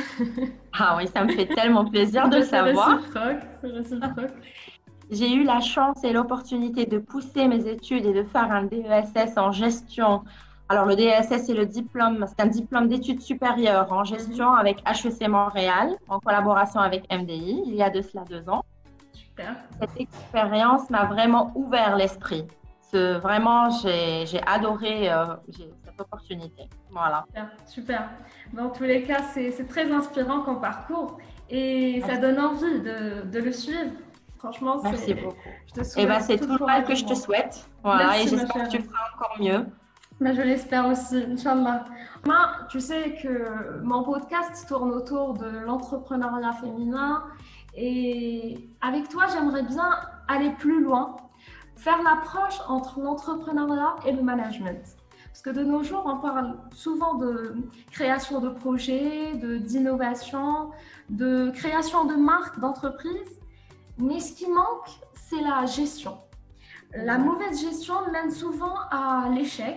Ah oui, ça me fait tellement plaisir de le savoir. C'est réciproque. J'ai eu la chance et l'opportunité de pousser mes études et de faire un D E S S en gestion. Alors, le D E S S, c'est le diplôme, c'est un diplôme d'études supérieures en gestion mm-hmm. avec H E C Montréal, en collaboration avec M D I, il y a de cela deux ans. Super. Cette expérience m'a vraiment ouvert l'esprit. Ce, vraiment, j'ai, j'ai adoré euh, j'ai, cette opportunité. Voilà. Super, super. Dans tous les cas, c'est, c'est très inspirant comme parcours et Merci. Ça donne envie de, de le suivre. Franchement, c'est… Merci beaucoup. Je te souhaite et ben, c'est tout le mal que je te souhaite. Voilà, Merci, et j'espère que tu feras encore mieux. Mais je l'espère aussi, Inch'Allah. Moi, tu sais que mon podcast tourne autour de l'entrepreneuriat féminin et avec toi, j'aimerais bien aller plus loin, faire l'approche entre l'entrepreneuriat et le management. Parce que de nos jours, on parle souvent de création de projets, de, d'innovation, de création de marques, d'entreprises, mais ce qui manque, c'est la gestion. La mauvaise gestion mène souvent à l'échec.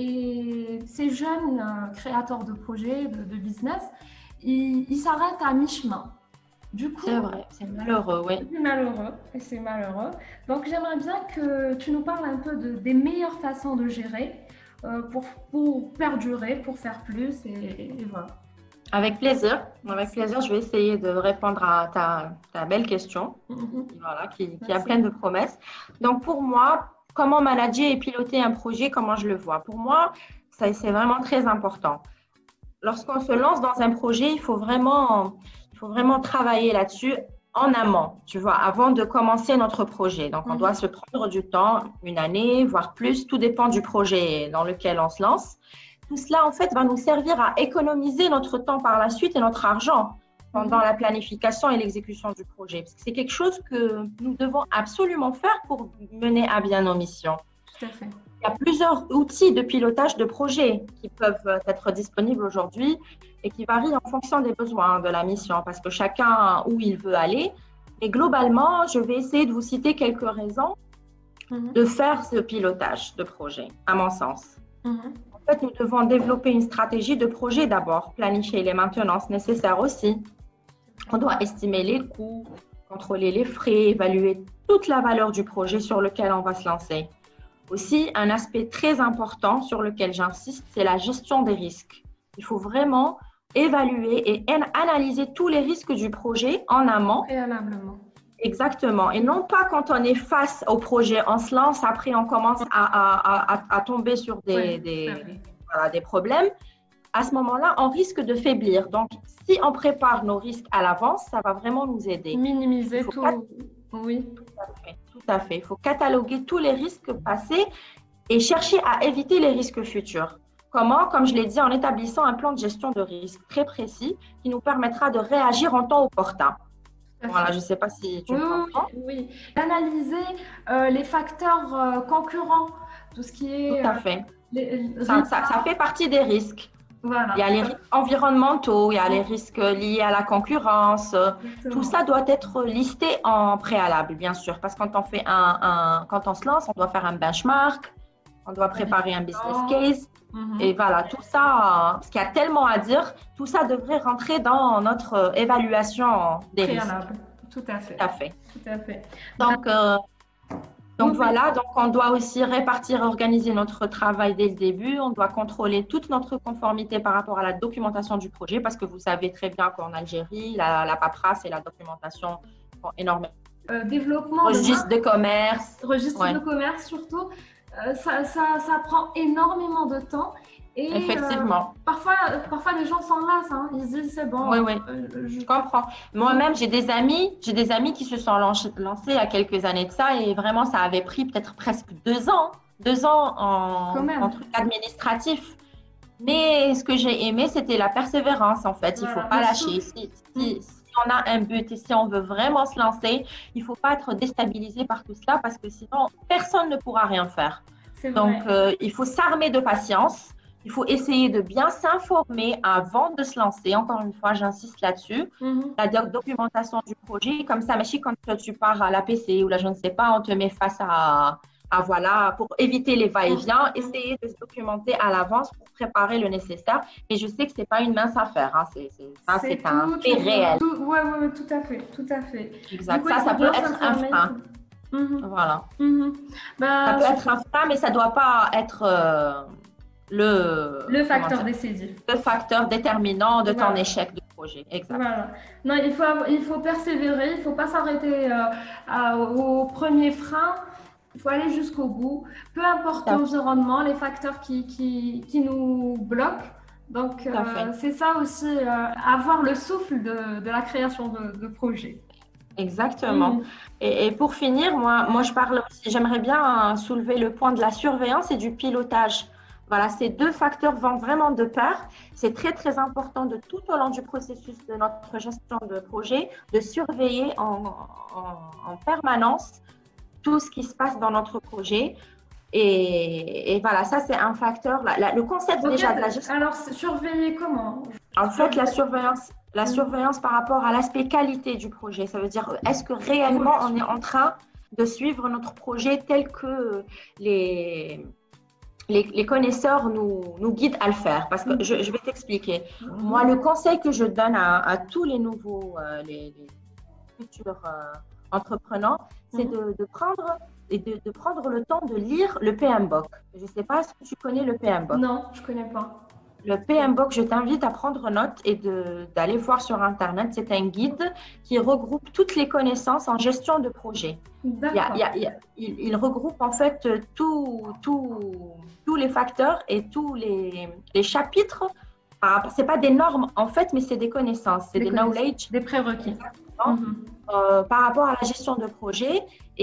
Et ces jeunes euh, créateurs de projets, de, de business, ils, ils s'arrêtent à mi-chemin. Du coup, c'est vrai, c'est malheureux, oui. C'est malheureux, et c'est malheureux. Donc, j'aimerais bien que tu nous parles un peu de, des meilleures façons de gérer euh, pour, pour perdurer, pour faire plus, et, et voilà. Avec plaisir, avec plaisir, je vais essayer de répondre à ta, ta belle question, mm-hmm. voilà, qui, qui a plein de promesses. Donc, pour moi, comment manager et piloter un projet, comment je le vois? Pour moi, ça, c'est vraiment très important. Lorsqu'on se lance dans un projet, il faut vraiment, il faut vraiment travailler là-dessus en amont, tu vois, avant de commencer notre projet. Donc, on mmh. doit se prendre du temps, une année, voire plus, tout dépend du projet dans lequel on se lance. Tout cela, en fait, va nous servir à économiser notre temps par la suite et notre argent pendant la planification et l'exécution du projet. Parce que c'est quelque chose que nous devons absolument faire pour mener à bien nos missions. Tout à fait. Il y a plusieurs outils de pilotage de projet qui peuvent être disponibles aujourd'hui et qui varient en fonction des besoins de la mission parce que chacun où il veut aller. Et globalement, je vais essayer de vous citer quelques raisons mm-hmm. de faire ce pilotage de projet, à mon sens. Mm-hmm. En fait, nous devons développer une stratégie de projet d'abord, planifier les maintenances nécessaires aussi. On doit estimer les coûts, contrôler les frais, évaluer toute la valeur du projet sur lequel on va se lancer. Aussi, un aspect très important sur lequel j'insiste, c'est la gestion des risques. Il faut vraiment évaluer et analyser tous les risques du projet en amont. Préalablement. Exactement. Et non pas quand on est face au projet, on se lance, après on commence à, à, à, à tomber sur des, oui, des, voilà, des problèmes. à ce moment-là, on risque de faiblir. Donc, si on prépare nos risques à l'avance, ça va vraiment nous aider. Minimiser tout. Cat... Oui. Tout à fait. Tout à fait. Il faut cataloguer tous les risques passés et chercher à éviter les risques futurs. Comment? Comme je l'ai dit, en établissant un plan de gestion de risque très précis qui nous permettra de réagir en temps opportun. Voilà, je ne sais pas si tu oui, comprends. Oui, oui. Analyser euh, les facteurs euh, concurrents, tout ce qui est… Tout à fait. Euh, les, ça, ça, ça fait partie des risques. Voilà. Il y a les risques environnementaux, il y a les risques liés à la concurrence. Exactement. Tout ça doit être listé en préalable, bien sûr, parce que quand on, fait un, un, quand on se lance, on doit faire un benchmark, on doit préparer un business case. Mm-hmm. Et voilà, tout ça, parce qu'il y a tellement à dire, tout ça devrait rentrer dans notre évaluation des préalable. Risques. Tout à fait. Tout à fait. Tout à fait. Donc, euh, donc oui, voilà, donc on doit aussi répartir et organiser notre travail dès le début. On doit contrôler toute notre conformité par rapport à la documentation du projet, parce que vous savez très bien qu'en Algérie, la, la paperasse et la documentation sont énormément. Euh, développement registre de, de commerce. Registre ouais. de commerce surtout. Euh, ça, ça, ça prend énormément de temps. Et, effectivement. Euh, parfois, parfois, les gens s'en lassent. Hein. Ils se disent, c'est bon. Oui, oui, euh, je... je comprends. Moi-même, j'ai des amis, j'ai des amis qui se sont lancés il y a quelques années de ça et vraiment, ça avait pris peut-être presque deux ans. Deux ans en, en truc administratif. Mais ce que j'ai aimé, c'était la persévérance, en fait. Il ne voilà, faut pas lâcher. Si, si, si on a un but et si on veut vraiment se lancer, il ne faut pas être déstabilisé par tout cela parce que sinon, personne ne pourra rien faire. Donc, euh, il faut s'armer de patience. Il faut essayer de bien s'informer avant de se lancer. Encore une fois, j'insiste là-dessus. Mm-hmm. La documentation du projet, comme ça, mais quand tu pars à l'A P C ou là, je ne sais pas, on te met face à, à voilà, pour éviter les va-et-vient, mm-hmm. essayer de se documenter à l'avance pour préparer le nécessaire. Mais je sais que ce n'est pas une mince affaire. Hein. C'est, c'est, ça, c'est, c'est un fait réel. Oui, oui, ouais, tout à fait. Tout à fait. Exact. Coup, ça, ça peut être un frein. Mm-hmm. Voilà. Mm-hmm. Bah, ça peut être un frein, mais ça ne doit pas être… Euh, Le, le facteur décisif. Le facteur déterminant de voilà. ton échec de projet. Exact. Voilà. Non, il faut, il faut persévérer, il ne faut pas s'arrêter euh, à, au premier frein. Il faut aller jusqu'au bout. Peu importe l'environnement, les facteurs qui, qui, qui nous bloquent. Donc, euh, c'est ça aussi, euh, avoir le souffle de, de la création de, de projet. Exactement. Mmh. Et, et pour finir, moi, moi je parle aussi, j'aimerais bien hein, soulever le point de la surveillance et du pilotage. Voilà, ces deux facteurs vont vraiment de pair. C'est très, très important de tout au long du processus de notre gestion de projet, de surveiller en, en, en permanence tout ce qui se passe dans notre projet. Et, et voilà, ça, c'est un facteur. La, la, le concept okay, déjà de la gestion… Alors, surveiller comment? En fait, la surveillance, la mmh. surveillance par rapport à l'aspect qualité du projet. Ça veut dire, est-ce que réellement, on est en train de suivre notre projet tel que les… Les, les connaisseurs nous, nous guident à le faire. Parce que je, je vais t'expliquer. Mm-hmm. Moi, le conseil que je donne à, à tous les nouveaux, euh, les, les futurs euh, entrepreneurs, c'est mm-hmm. de, de, prendre, et de, de prendre le temps de lire le P M B O K. Je ne sais pas si tu connais le P M B O K. Non, je ne connais pas. Le P M B O K, je t'invite à prendre note et de, d'aller voir sur Internet. C'est un guide qui regroupe toutes les connaissances en gestion de projet. D'accord. Il, y a, il, y a, il, il regroupe en fait tout, tout, tous les facteurs et tous les, les chapitres. Ce n'est pas des normes en fait, mais c'est des connaissances, c'est des, des knowledge. Des prérequis. Mm-hmm. Euh, par rapport à la gestion de projet.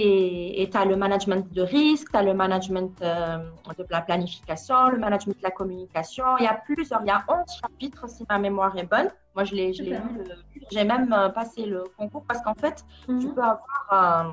Et tu as le management de risque, tu as le management euh, de la planification, le management de la communication. Il y a plusieurs, il y a onze chapitres si ma mémoire est bonne. Moi, je l'ai, je l'ai lu, j'ai même passé le concours parce qu'en fait, mm-hmm. tu peux avoir euh,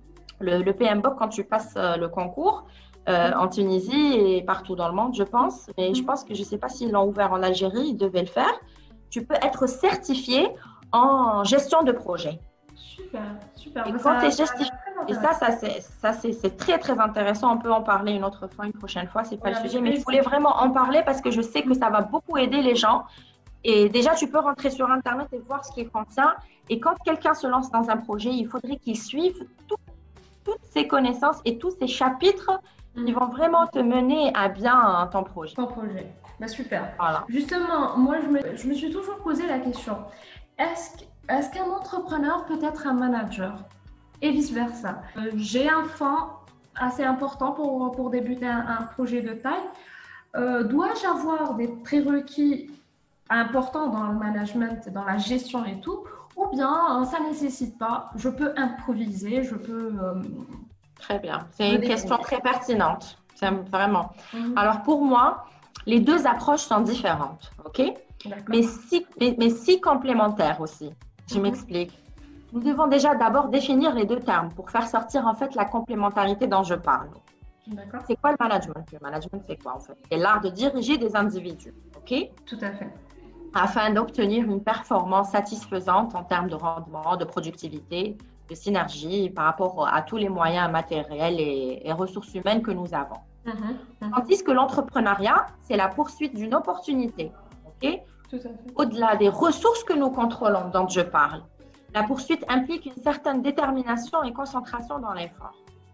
le, le P M B O K quand tu passes euh, le concours euh, mm-hmm. en Tunisie et partout dans le monde, je pense. Mais mm-hmm. je pense que je ne sais pas s'ils l'ont ouvert en Algérie, ils devaient le faire. Tu peux être certifié en gestion de projet. Super, super. Et quand tu es justifié, et ça, ça, c'est, ça c'est, c'est très, très intéressant. On peut en parler une autre fois, une prochaine fois, c'est pas voilà, le sujet. Mais je voulais vraiment en parler parce que je sais que ça va beaucoup aider les gens. Et déjà, tu peux rentrer sur Internet et voir ce qu'il contient. Et quand quelqu'un se lance dans un projet, il faudrait qu'il suive tout, toutes ces connaissances et tous ces chapitres mmh. qui vont vraiment te mener à bien ton projet. Ton projet. Bah, super. Voilà. Justement, moi, je me, je me suis toujours posé la question. Est-ce que Est-ce qu'un entrepreneur peut être un manager et vice-versa? euh, J'ai un fonds assez important pour, pour débuter un, un projet de taille. Euh, dois-je avoir des prérequis importants dans le management, dans la gestion et tout, ou bien ça ne nécessite pas, je peux improviser, je peux... Euh, très bien, c'est une question très pertinente, c'est vraiment. Mm-hmm. Alors pour moi, les deux approches sont différentes, ok? Mais si, mais, mais si complémentaires aussi. Je mm-hmm. m'explique. Nous devons déjà d'abord définir les deux termes pour faire sortir en fait la complémentarité dont je parle. C'est quoi le management? Le management, c'est quoi en fait? C'est l'art de diriger des individus, ok? Tout à fait. Afin d'obtenir une performance satisfaisante en termes de rendement, de productivité, de synergie par rapport à tous les moyens matériels et, et ressources humaines que nous avons. Mmh, mmh. Tandis que l'entrepreneuriat, c'est la poursuite d'une opportunité, ok? Tout à fait. Au-delà des ressources que nous contrôlons, dont je parle, la poursuite implique une certaine détermination et concentration dans l'effort.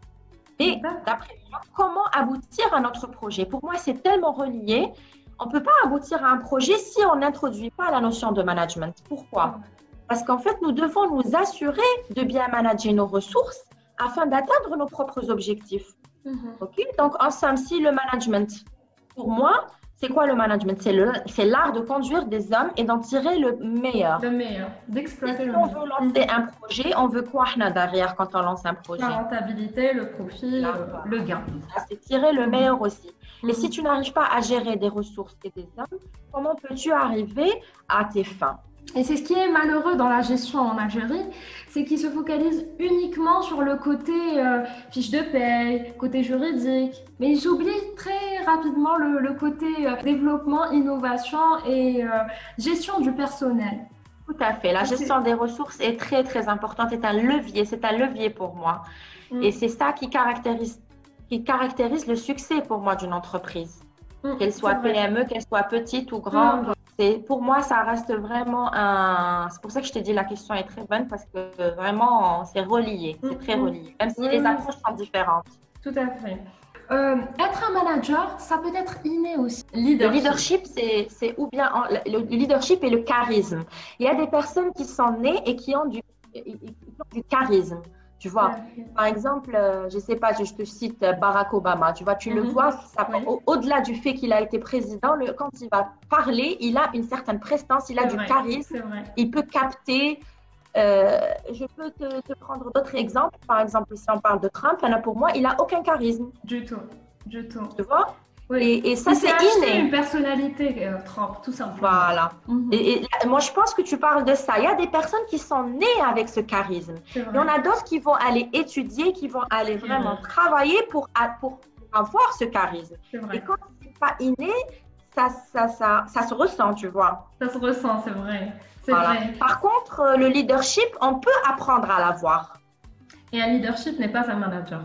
Et d'après moi, comment aboutir à notre projet? Pour moi, c'est tellement relié. On ne peut pas aboutir à un projet si on n'introduit pas la notion de management. Pourquoi? Parce qu'en fait, nous devons nous assurer de bien manager nos ressources afin d'atteindre nos propres objectifs. Mm-hmm. Okay? Donc, en somme, si le management, pour moi, c'est quoi le management? C'est l'art de conduire des hommes et d'en tirer le meilleur. Le meilleur, d'exploiter le meilleur. Si on veut lancer un projet, on veut quoi derrière quand on lance un projet? La rentabilité, le profit, Là, le, le gain. C'est tirer le meilleur aussi. Et si tu n'arrives pas à gérer des ressources et des hommes, comment peux-tu arriver à tes fins? Et c'est ce qui est malheureux dans la gestion en Algérie, c'est qu'ils se focalisent uniquement sur le côté euh, fiche de paye, côté juridique. Mais ils oublient très rapidement le, le côté euh, développement, innovation et euh, gestion du personnel. Tout à fait. La gestion des ressources est très, très importante. C'est un levier. C'est un levier pour moi. Mm. Et c'est ça qui caractérise, qui caractérise le succès pour moi d'une entreprise. Mm. Qu'elle soit P M E, qu'elle soit petite ou grande. Mm. Pour moi, ça reste vraiment un... C'est pour ça que je te dis la question est très bonne parce que vraiment, c'est relié. C'est très relié. Même si mm. les approches sont différentes. Tout à fait. Euh, être un manager, ça peut être inné aussi. Leadership. Le leadership, c'est ou bien en, le leadership et le charisme. Il y a des personnes qui sont nées et qui ont du, qui ont du charisme. Tu vois, ouais. Par exemple, euh, je ne sais pas, je, je te cite Barack Obama. Tu vois, tu mm-hmm. le vois, ça, ouais. au, au-delà du fait qu'il a été président, le, quand il va parler, il a une certaine prestance, il a du vrai. charisme, il peut capter. Euh, je peux te, te prendre d'autres exemples. Par exemple, si on parle de Trump, là, pour moi, il n'a aucun charisme. Du tout, du tout. Tu vois? Oui. Et, et ça, c'est inné. Une personnalité, euh, Trump, tout simplement. Voilà. Mm-hmm. et, et moi, je pense que tu parles de ça. Il y a des personnes qui sont nées avec ce charisme. Il y en a d'autres qui vont aller étudier, qui vont aller vraiment mm-hmm. travailler pour, pour avoir ce charisme. Et quand c'est pas inné, ça, ça, ça, ça se ressent, tu vois. Ça se ressent, c'est vrai. Voilà. Vrai. Par contre, le leadership, on peut apprendre à l'avoir. Et un leadership n'est pas un manager.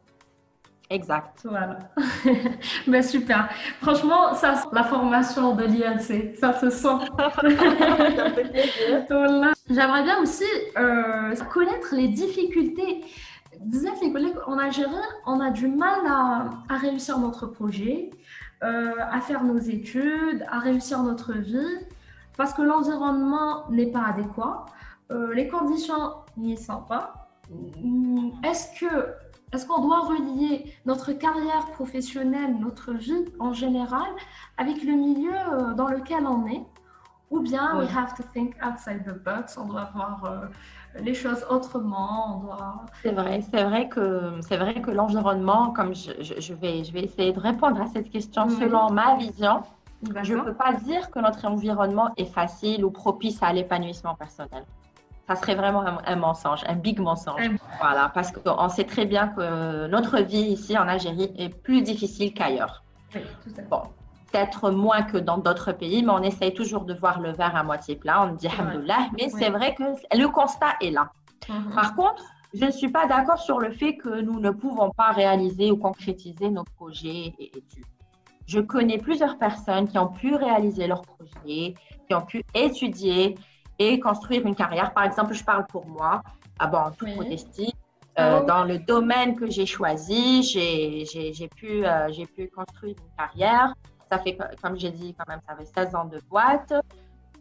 Exact. Voilà. Ben, super. Franchement, ça, la formation de l'I N C, ça se sent. Ça fait plaisir. Voilà. J'aimerais bien aussi euh, connaître les difficultés. Vous êtes les collègues en Algérie, on a du mal à, à réussir notre projet, euh, à faire nos études, à réussir notre vie, parce que l'environnement n'est pas adéquat, euh, les conditions n'y sont pas. Est-ce que Est-ce qu'on doit relier notre carrière professionnelle, notre vie en général, avec le milieu dans lequel on est? Ou bien, oui. we have to think outside the box, on doit voir euh, les choses autrement, on doit... C'est vrai, c'est vrai que, c'est vrai que l'environnement, comme je, je, je, vais, je vais essayer de répondre à cette question mmh. selon ma vision, D'accord. je ne peux pas dire que notre environnement est facile ou propice à l'épanouissement personnel. Ça serait vraiment un, un mensonge, un big mensonge. Mmh. Voilà, parce qu'on sait très bien que notre vie ici en Algérie est plus difficile qu'ailleurs. Oui, tout à fait. Bon, peut-être moins que dans d'autres pays, mais on essaye toujours de voir le verre à moitié plein. On dit alhamdoulilah, mais oui. c'est vrai que le constat est là. Mmh. Par contre, je ne suis pas d'accord sur le fait que nous ne pouvons pas réaliser ou concrétiser nos projets et études. Je connais plusieurs personnes qui ont pu réaliser leurs projets, qui ont pu étudier et construire une carrière. Par exemple, je parle pour moi, ah bon, en toute oui. modestie, euh, oh. dans le domaine que j'ai choisi, j'ai, j'ai, j'ai, pu, euh, j'ai pu construire une carrière. Ça fait, comme j'ai dit, quand même, ça fait seize ans de boîte.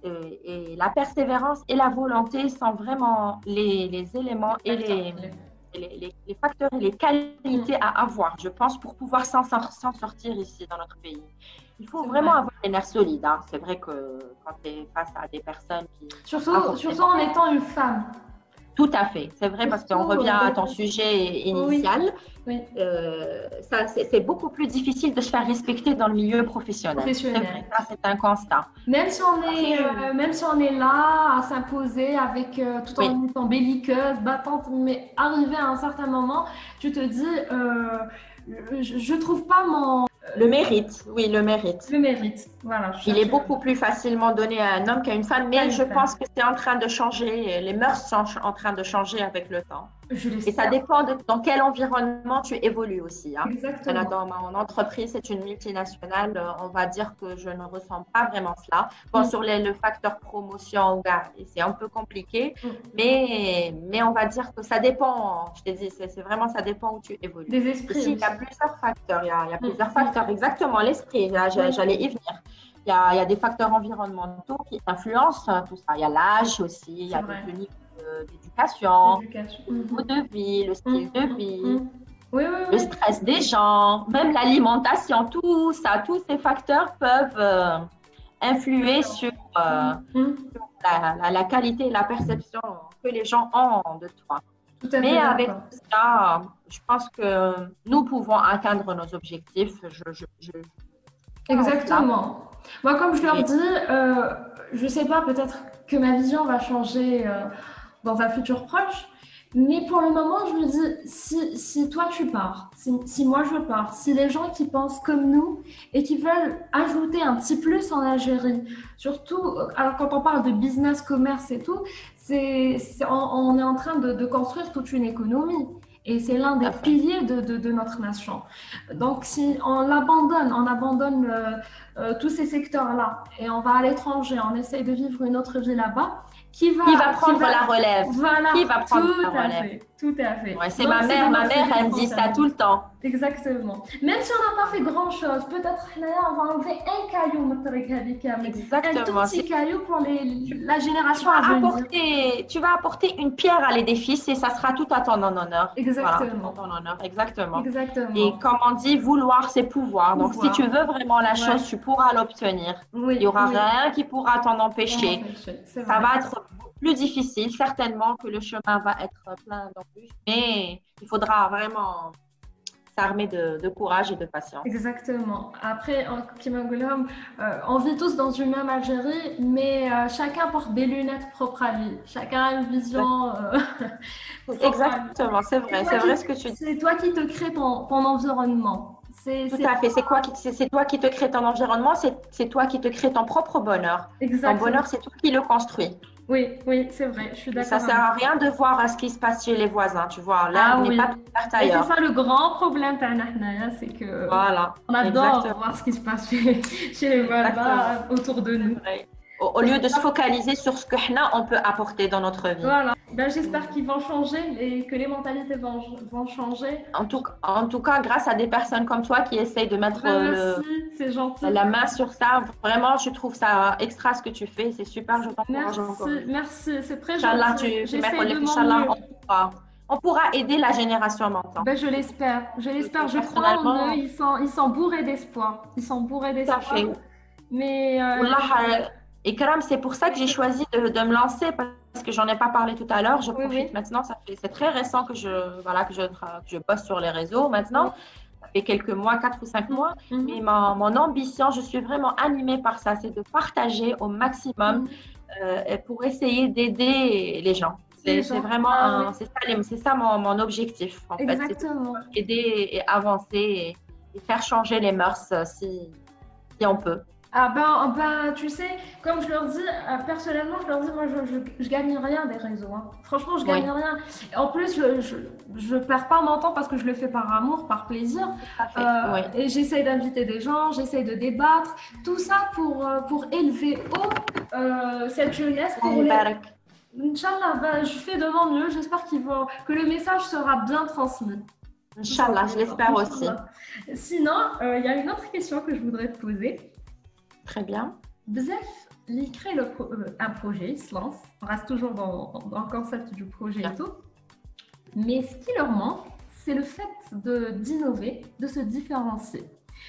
Et, et la persévérance et la volonté sont vraiment les, les éléments et les, les, les, les facteurs et les qualités à avoir, je pense, pour pouvoir s'en s'en sortir ici dans notre pays. Il faut vraiment vrai. avoir les nerfs solides. Hein. C'est vrai que quand tu es face à des personnes qui... Surtout, surtout en étant une femme. Tout à fait, c'est vrai, parce qu'on revient à ton sujet initial. Oui. Oui. Euh, ça, c'est beaucoup plus difficile de se faire respecter dans le milieu professionnel. Professionnel. C'est vrai, ça, c'est un constat. Même si on est, euh, même si on est là à s'imposer avec euh, tout en Oui. étant belliqueuse, battante, mais arrivé à un certain moment, tu te dis, euh, je ne trouve pas mon... Le mérite, oui, le mérite. Le mérite, voilà. Il est beaucoup plus facilement donné à un homme qu'à une femme, mais je pense que c'est en train de changer. Les mœurs sont en train de changer avec le temps. Je Et ça dépend de dans quel environnement tu évolues aussi. Hein. Exactement. Dans mon entreprise, c'est une multinationale. On va dire que je ne ressens pas vraiment cela. Bon, mm. sur les, le facteur promotion, c'est un peu compliqué, mm. mais, mais on va dire que ça dépend. Je te dis, c'est vraiment ça dépend où tu évolues. Des esprits. Ici, il y a plusieurs facteurs. Il y a, il y a plusieurs mm. facteurs. Exactement, l'esprit. J'allais y venir. Il y, a, il y a des facteurs environnementaux qui influencent tout ça. Il y a l'âge aussi, il y a des niveaux d'éducation, le niveau de vie, le style de vie, oui, oui, oui. le stress des gens, même l'alimentation, tout ça, tous ces facteurs peuvent euh, influer sur, euh, sur la, la, la qualité et la perception que les gens ont de toi. Mais avec tout ça, je pense que nous pouvons atteindre nos objectifs. Je, je, je... Exactement. Moi, comme je leur dis, euh, je ne sais pas, peut-être que ma vision va changer euh, dans un futur proche, mais pour le moment, je me dis, si, si toi tu pars, si, si moi je pars, si les gens qui pensent comme nous et qui veulent ajouter un petit plus en Algérie, surtout, alors quand on parle de business, commerce et tout, c'est, c'est, on, on est en train de, de construire toute une économie. Et c'est l'un des piliers de, de, de notre nation. Donc, si on l'abandonne, on abandonne euh, euh, tous ces secteurs-là et on va à l'étranger, on essaye de vivre une autre vie là-bas, qui va, qui va prendre qui va, la relève voilà, qui va prendre tout la à relève fait, tout à fait. Ouais, c'est ma mère, ma mère, elle me dit ça tout le temps. Exactement. Même si on n'a pas fait grand-chose, peut-être là, on va enlever un caillou, exactement. un tout petit caillou pour les, la génération tu à venir. Apporter, tu vas apporter une pierre à l'édifice et ça sera tout à ton honneur. Exactement. Voilà, ton honneur. Exactement. Exactement. Et comme on dit, vouloir, c'est pouvoir. Donc, pouvoir. Si tu veux vraiment la chose, ouais. tu pourras l'obtenir. Oui, il n'y aura oui. rien qui pourra t'en empêcher. Ça va être plus difficile, certainement que le chemin va être plein d'embûches, mais il faudra vraiment s'armer de, de courage et de patience. Exactement. Après, euh, on vit tous dans une même Algérie, mais euh, chacun porte des lunettes propres à lui. Chacun a une vision. Euh, Exactement, c'est vrai, c'est vrai ce que tu dis. C'est toi qui te crée ton, ton environnement. C'est, Tout à fait. C'est quoi qui, c'est, c'est toi qui te crée ton environnement, c'est, c'est toi qui te crée ton propre bonheur. Exactement. Ton bonheur, c'est toi qui le construis. Oui, oui, c'est vrai, je suis d'accord. Ça ne sert à rien de voir ce qui se passe chez les voisins, tu vois. Là, ah, on n'est oui. pas tout vert ailleurs. Et c'est ça le grand problème, c'est que voilà. on adore Exactement. voir ce qui se passe chez, chez les voisins autour de nous. Au, au lieu de se focaliser sur ce que on peut apporter dans notre vie. Voilà. Ben, j'espère qu'ils vont changer et que les mentalités vont, vont changer. En tout, en tout cas, grâce à des personnes comme toi qui essayent de mettre ben, le, merci, c'est gentil. la main sur ça, vraiment, je trouve ça extra ce que tu fais. C'est super, je t'encourage encore. Merci, merci, c'est très Inch'Allah, gentil. Tu, J'essaie de on pourra, on pourra aider la génération maintenant. Ben, je l'espère, je l'espère, je crois en eux. Ils sont, ils sont bourrés d'espoir. Ils sont bourrés d'espoir. Tout à fait. Mais euh, Wallah, Ikram, c'est pour ça que j'ai choisi de, de me lancer parce que j'en ai pas parlé tout à l'heure. Je profite oui, oui. maintenant. Ça fait, c'est très récent que je, voilà, que je, que je poste sur les réseaux maintenant. Oui. Ça fait quelques mois, quatre ou cinq mois. Mm-hmm. Mais ma, mon ambition, je suis vraiment animée par ça, c'est de partager au maximum mm-hmm. euh, pour essayer d'aider les gens. C'est, c'est vraiment, ah, un, oui. c'est ça, c'est ça mon, mon objectif en Exactement. fait. C'est aider et avancer et, et faire changer les mœurs si, si on peut. Ah ben, ben, tu sais, comme je leur dis, euh, personnellement, je leur dis, moi, je, je, je gagne rien des réseaux. Hein. Franchement, je gagne oui. rien. En plus, je, je, je perds pas mon temps parce que je le fais par amour, par plaisir. Euh, oui. Et j'essaye d'inviter des gens, j'essaye de débattre. Tout ça pour, pour élever haut euh, cette jeunesse. Pour les... Inch'Allah, ben, je fais de mon mieux. J'espère qu'ils vont, que le message sera bien transmis. Inch'Allah, je l'espère aussi. Sinon, il euh, y a une autre question que je voudrais te poser. Très bien. Bzef, il crée le pro- un projet, il se lance. On reste toujours dans, dans le concept du projet bien. Et tout. Mais ce qui leur manque, c'est le fait de, d'innover, de se différencier.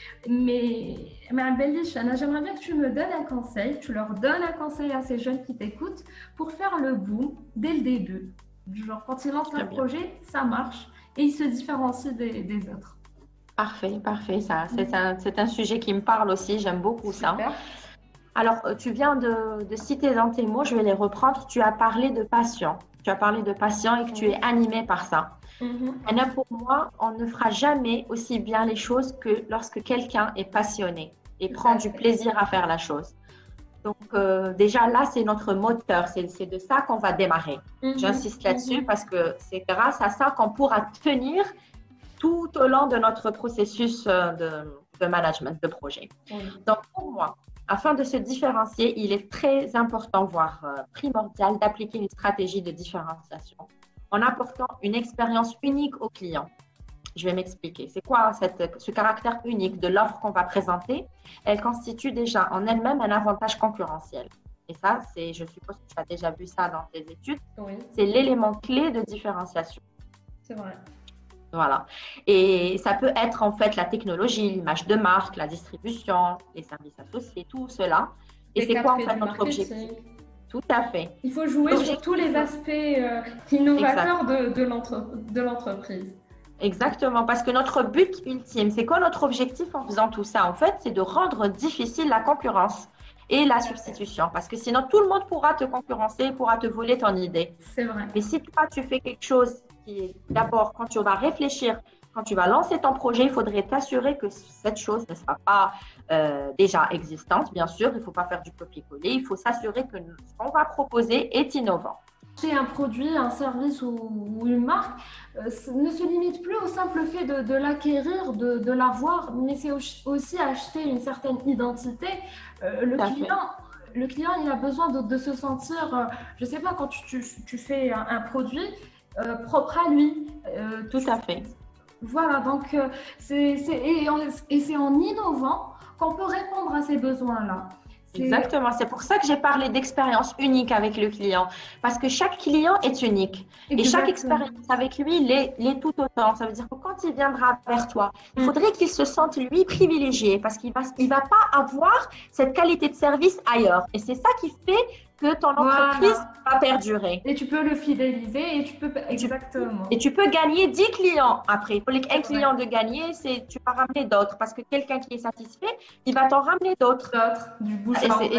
Mais, mais Abelish, Anna, j'aimerais bien que tu me donnes un conseil, tu leur donnes un conseil à ces jeunes qui t'écoutent pour faire le boom dès le début. Genre, quand ils lancent un projet, ça marche et ils se différencient des, des autres. Parfait, parfait. Ça, c'est un, c'est un sujet qui me parle aussi, j'aime beaucoup ça. Super. Alors, tu viens de, de citer dans tes mots, je vais les reprendre. Tu as parlé de passion. Tu as parlé de passion et que tu es animé par ça. Mm-hmm. Anna, pour moi, on ne fera jamais aussi bien les choses que lorsque quelqu'un est passionné et prend du plaisir à faire la chose. Donc, euh, déjà là, c'est notre moteur. C'est, c'est de ça qu'on va démarrer. Mm-hmm. J'insiste là-dessus mm-hmm. parce que c'est grâce à ça qu'on pourra tenir tout au long de notre processus de, de management de projet. Mm-hmm. Donc, pour moi, afin de se différencier, il est très important, voire euh, primordial, d'appliquer une stratégie de différenciation en apportant une expérience unique au client. Je vais m'expliquer. C'est quoi cette, ce caractère unique de l'offre qu'on va présenter? Elle constitue déjà en elle-même un avantage concurrentiel. Et ça, c'est, je suppose que tu as déjà vu ça dans tes études, oui. C'est l'élément clé de différenciation. C'est vrai. Voilà. Et ça peut être en fait la technologie, l'image de marque, la distribution, les services associés, tout cela. Et les c'est quoi en fait notre objectif? Tout à fait. Il faut jouer donc, sur tous les aspects euh, innovateurs de, de, l'entre, de l'entreprise. Exactement, parce que notre but ultime, c'est quoi notre objectif en faisant tout ça? En fait, c'est de rendre difficile la concurrence et la substitution, parce que sinon tout le monde pourra te concurrencer, pourra te voler ton idée. C'est vrai. Mais si toi, tu fais quelque chose qui, d'abord, quand tu vas réfléchir, quand tu vas lancer ton projet, il faudrait t'assurer que cette chose ne sera pas euh, déjà existante, bien sûr. Il ne faut pas faire du copier-coller. Il faut s'assurer que ce qu'on va proposer est innovant. Acheter un produit, un service ou, ou une marque euh, ne se limite plus au simple fait de, de l'acquérir, de, de l'avoir, mais c'est aussi acheter une certaine identité. Euh, le, client, le client, il a besoin de, de se sentir, euh, je ne sais pas, quand tu, tu, tu fais un, un produit euh, propre à lui. Euh, Tout à fait. Voilà, donc euh, c'est, c'est, et, et c'est en innovant qu'on peut répondre à ces besoins-là. C'est... Exactement, c'est pour ça que j'ai parlé d'expérience unique avec le client, parce que chaque client est unique. Exactement. Et chaque expérience avec lui l'est, l'est tout autant. Ça veut dire que quand il viendra vers toi, il faudrait qu'il se sente lui privilégié, parce qu'il va, il va pas avoir cette qualité de service ailleurs. Et c'est ça qui fait que ton entreprise voilà. va perdurer. Et tu peux le fidéliser et tu peux exactement. Et tu peux gagner dix clients après. Pour les un client de gagner, c'est tu vas ramener d'autres parce que quelqu'un qui est satisfait, il va t'en ramener d'autres. D'autres, du bouche à oreille.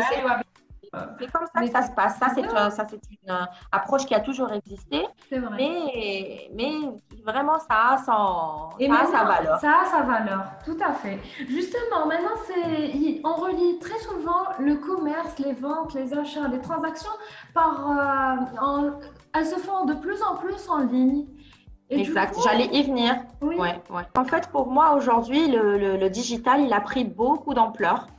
C'est comme ça que ça se passe. Ça, c'est, une, ça, c'est une approche qui a toujours existé. C'est vrai. Mais, mais vraiment, ça a, son, Et ça a sa valeur. Ça a sa valeur, tout à fait. Justement, maintenant, c'est, on relie très souvent le commerce, les ventes, les achats, les transactions, par, euh, en, elles se font de plus en plus en ligne. Et exact, coup, j'allais y venir. Oui. Ouais, ouais. En fait, pour moi, aujourd'hui, le, le, le digital, il a pris beaucoup d'ampleur.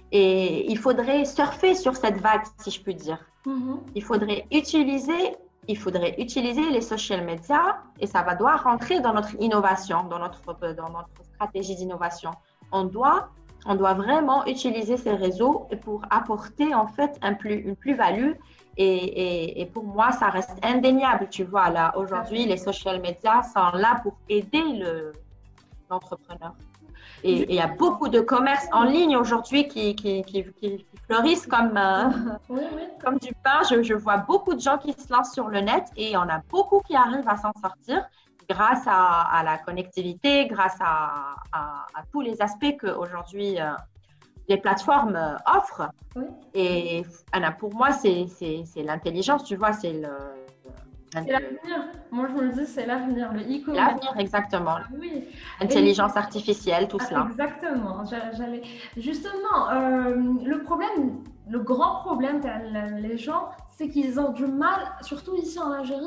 Et il faudrait surfer sur cette vague, si je puis dire. Mm-hmm. Il faudrait utiliser, il faudrait utiliser les social media et ça va devoir rentrer dans notre innovation, dans notre, dans notre stratégie d'innovation. On doit, on doit vraiment utiliser ces réseaux pour apporter en fait un plus, une plus-value. Et, et, et pour moi, ça reste indéniable. Tu vois, là, aujourd'hui, les social media sont là pour aider le, l'entrepreneur. Et il y a beaucoup de commerces en ligne aujourd'hui qui, qui, qui, qui fleurissent comme, euh, oui, oui. comme du pain. Je, je vois beaucoup de gens qui se lancent sur le net et il y en a beaucoup qui arrivent à s'en sortir grâce à, à la connectivité, grâce à, à, à tous les aspects qu'aujourd'hui euh, les plateformes euh, offrent. Oui. Et Anna, pour moi, c'est, c'est, c'est l'intelligence, tu vois, c'est le... C'est l'avenir. Moi, je vous le dis, c'est l'avenir. Le e-commerce. L'avenir, exactement. Oui. Intelligence Et... artificielle, tout ah, cela. Exactement. J'allais... Justement, euh, le problème, le grand problème que les gens, c'est qu'ils ont du mal, surtout ici en Algérie,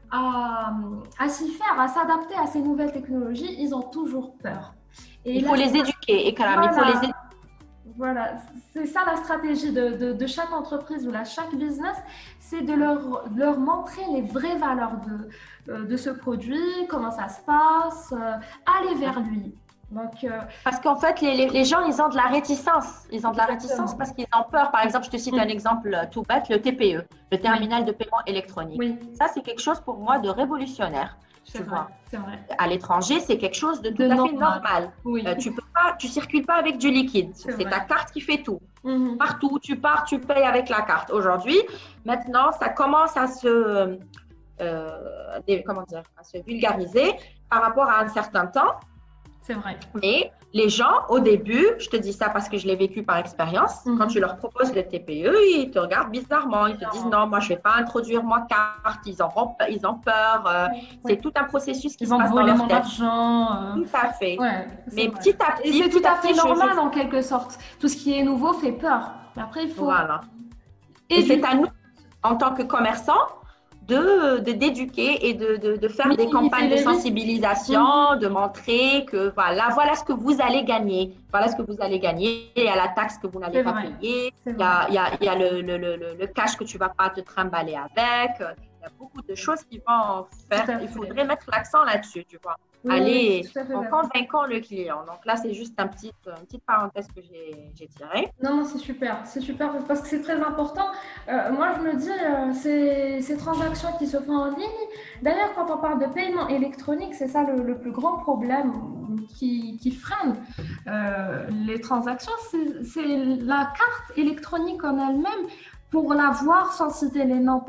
à, à s'y faire, à s'adapter à ces nouvelles technologies. Ils ont toujours peur. Et il faut là, les éduquer, et voilà. il faut les éduquer. Voilà, c'est ça la stratégie de, de, de chaque entreprise ou de chaque business, c'est de leur, de leur montrer les vraies valeurs de, de ce produit, comment ça se passe, euh, aller vers lui. Donc, euh... Parce qu'en fait, les, les, les gens, ils ont de la réticence. Ils ont de la réticence parce qu'ils ont peur. Par exemple, je te cite mmh. un exemple tout bête, le T P E, le terminal oui. de paiement électronique. Oui. Ça, c'est quelque chose pour moi de révolutionnaire. tu vrai, vois. c'est vrai. À l'étranger, c'est quelque chose de tout De à normal. fait normal. Oui. Euh, tu peux pas, tu circules pas avec du liquide. C'est C'est vrai. ta carte qui fait tout. Mhm. Partout où tu pars, tu payes avec la carte. Aujourd'hui, maintenant, ça commence à se, euh, des- comment dire, à se vulgariser par rapport à un certain temps. C'est vrai. Mais les gens, au début, je te dis ça parce que je l'ai vécu par expérience, Mhm. quand tu leur proposes le T P E, ils te regardent bizarrement. Ils te disent non, moi, je ne vais pas introduire ma carte. Ils ont, ils ont peur. euh, Oui. C'est tout un processus qui Ils se vont passe dans voler leur mon tête. argent. euh, Tout à fait. Ouais, c'est Mais vrai. petit à Et petit, c'est tout petit à à fait petit, je- normal je- en quelque sorte. Tout ce qui est nouveau fait peur. Mais après, il faut Voilà. Et c'est éduquer. à nous, en tant que commerçants, de, de- d'éduquer et de, de, de faire des Minimiser campagnes de les risques. sensibilisation, de montrer que voilà, voilà ce que vous allez gagner. Voilà ce que vous allez gagner. Il y a la taxe que vous n'allez C'est pas vrai. payer. C'est Il y a, il y a, il y a le, le, le, le cash que tu ne vas pas te trimballer avec. Il y a beaucoup de choses qui vont faire. Tout à Il fait. faudrait mettre l'accent là-dessus, tu vois. Oui, oui, Aller je suis tout à fait en d'accord. convainquant le client. Donc là, c'est juste un petit, une petite parenthèse que j'ai, j'ai tirée. Non, non, c'est super, c'est super parce que c'est très important. Euh, moi, je me dis, euh, ces, ces transactions qui se font en ligne, d'ailleurs, quand on parle de paiement électronique, c'est ça le, le plus grand problème qui, qui freine euh, les transactions, c'est c'est la carte électronique en elle-même. Pour l'avoir sans citer les noms,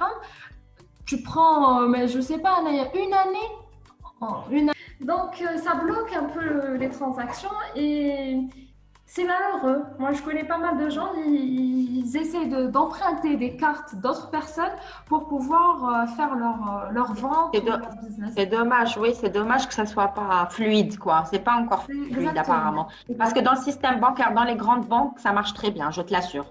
tu prends, euh, mais je sais pas, il y a une année, en une donc, euh, ça bloque un peu euh, les transactions et c'est malheureux. Moi, je connais pas mal de gens, ils, ils essaient de- d'emprunter des cartes d'autres personnes pour pouvoir euh, faire leur, euh, leur vente C'est ou de- leur business. C'est dommage, oui, c'est dommage que ça soit pas fluide, quoi. C'est pas encore C'est fluide exactement. apparemment. Parce que dans le système bancaire, dans les grandes banques, ça marche très bien, je te l'assure.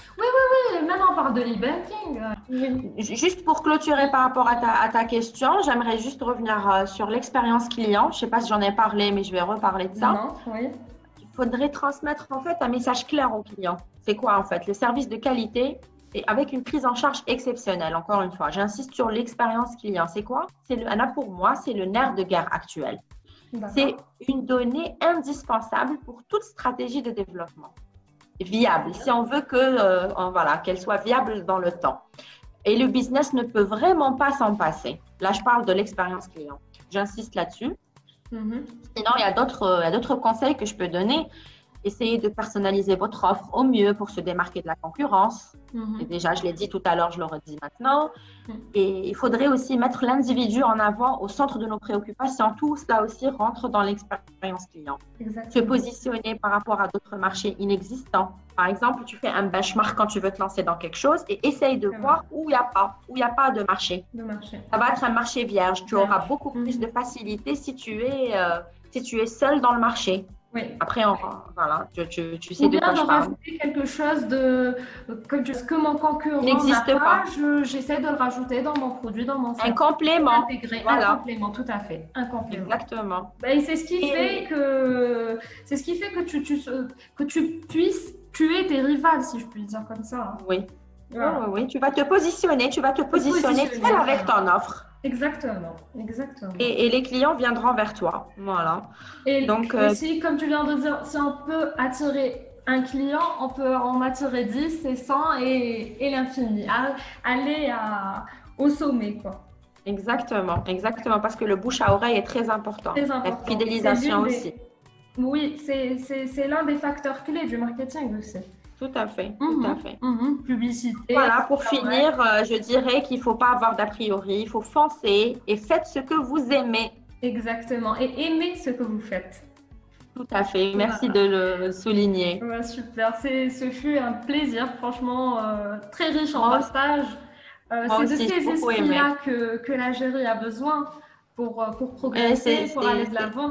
Oui, maintenant, on parle de l'e-banking. euh, J- Juste pour clôturer par rapport à ta, à ta question, j'aimerais juste revenir euh, sur l'expérience client. Je sais pas si j'en ai parlé, mais je vais reparler de ça. Non, oui. Il faudrait transmettre en fait un message clair au client. C'est quoi en fait? Le service de qualité et avec une prise en charge exceptionnelle. Encore une fois, j'insiste sur l'expérience client. C'est quoi? C'est le, Anna, pour moi, c'est le nerf de guerre actuel. C'est D'accord. une donnée indispensable pour toute stratégie de développement viable. Si on veut que, euh, on- voilà, qu'elle soit viable dans le temps. Et le business ne peut vraiment pas s'en passer. Là, je parle de l'expérience client. J'insiste là-dessus. Mhm. Sinon, il y a d'autres, euh, il y a d'autres conseils que je peux donner. Essayez de personnaliser votre offre au mieux pour se démarquer de la concurrence. Mhm. Et déjà, je l'ai dit tout à l'heure, je le redis maintenant. Mhm. Et il faudrait aussi mettre l'individu en avant au centre de nos préoccupations. Tout cela aussi rentre dans l'expérience client. Se Exactement. positionner par rapport à d'autres marchés inexistants. Par exemple, tu fais un benchmark quand tu veux te lancer dans quelque chose et essaye de C'est voir où il n'y a pas, où il n'y a pas de marché. De marché. Ça va être un marché vierge. Tu Vierge. auras beaucoup plus Mhm. de facilité si tu es, euh, si tu es seul dans le marché. Oui. Après, on, voilà, tu, tu, tu sais Ou de bien quoi de je parle. rajouter quelque chose de que, je- que mon concurrent N'existe n'a pas. je- j'essaie de le rajouter dans mon produit, dans mon Un service. complément. Intégrer Voilà. un complément, tout à fait, un complément. Exactement. Ben, c'est ce qui Et- fait que c'est ce qui fait que tu, tu que tu puisses tuer tes rivales, si je puis dire comme ça. Oui. Voilà. Oui, oui, oui. Tu vas te positionner, tu vas te positionner positionner, seul avec voilà. ton offre. Exactement, exactement. Et, et les clients viendront vers toi. Voilà. Et Donc, euh, aussi, comme tu viens de dire, si on peut attirer un client, on peut en attirer dix et cent et, et l'infini. À- Aller à, au sommet, quoi. Exactement, exactement, parce que le bouche à oreille est très important. Très La important. fidélisation C'est l'une aussi. des- Oui, c'est c'est- c'est l'un des facteurs clés du marketing aussi. Tout à fait, tout à Mhm, fait. mhm. Publicité. Voilà, pour Ouais. finir, euh, je dirais qu'il ne faut pas avoir d'a priori, il faut foncer et faites ce que vous aimez. Exactement. Et aimez ce que vous faites. Tout à fait, merci Voilà. de le souligner. Ouais, super. C'est- Ce fut un plaisir, franchement, euh, très riche en Moi- partage. Euh, moi c'est de aussi, j'ai ces beaucoup esprits-là que, que l'Algérie a besoin pour, euh, pour progresser, c'est- pour c'est- aller de c'est- l'avant.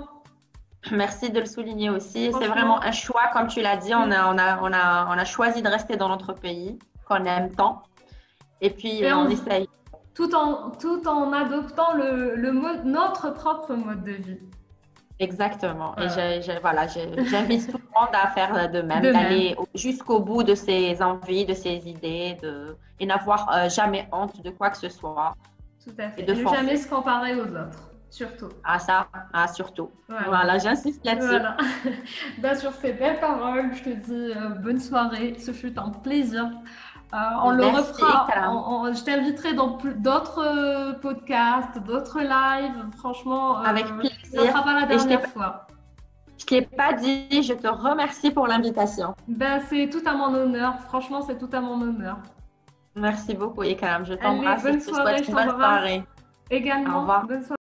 Merci de le souligner aussi. C'est Franchement- vraiment un choix, comme tu l'as dit, on a, on, a, on, a, on a choisi de rester dans notre pays, qu'on aime tant. Et puis, Et euh, on on- essaye. Tout en, tout en adoptant le, le mode, notre propre mode de vie. Exactement. Voilà. Et j'ai- j'ai- voilà, j'ai- j'invite tout le monde à faire de même, De même. d'aller au- jusqu'au bout de ses envies, de ses idées, de, et n'avoir euh, jamais honte de quoi que ce soit. Tout à fait. Et de Ne foncer. jamais se comparer aux autres, surtout. Ah, ça, ah, surtout. Voilà. Voilà, j'insiste là-dessus. Voilà. Bah, sur ces belles paroles, je te dis euh, bonne soirée. Ce fut un plaisir Euh, on le Merci, refera. Ikram. On- on- je t'inviterai dans plus- d'autres euh, podcasts, d'autres lives. Franchement, Avec euh, ça ne plaisir. sera pas la Et je t'ai dernière fois. je t'ai pas dit, je te remercie pour l'invitation. Ben, c'est tout à mon honneur. Franchement, c'est tout à mon honneur. Merci beaucoup, Ikram. Je Allez, t'embrasse et bonne je te soirée, souhaite je une bonne t'embrasse. soirée. Au Également, revoir. bonne soirée.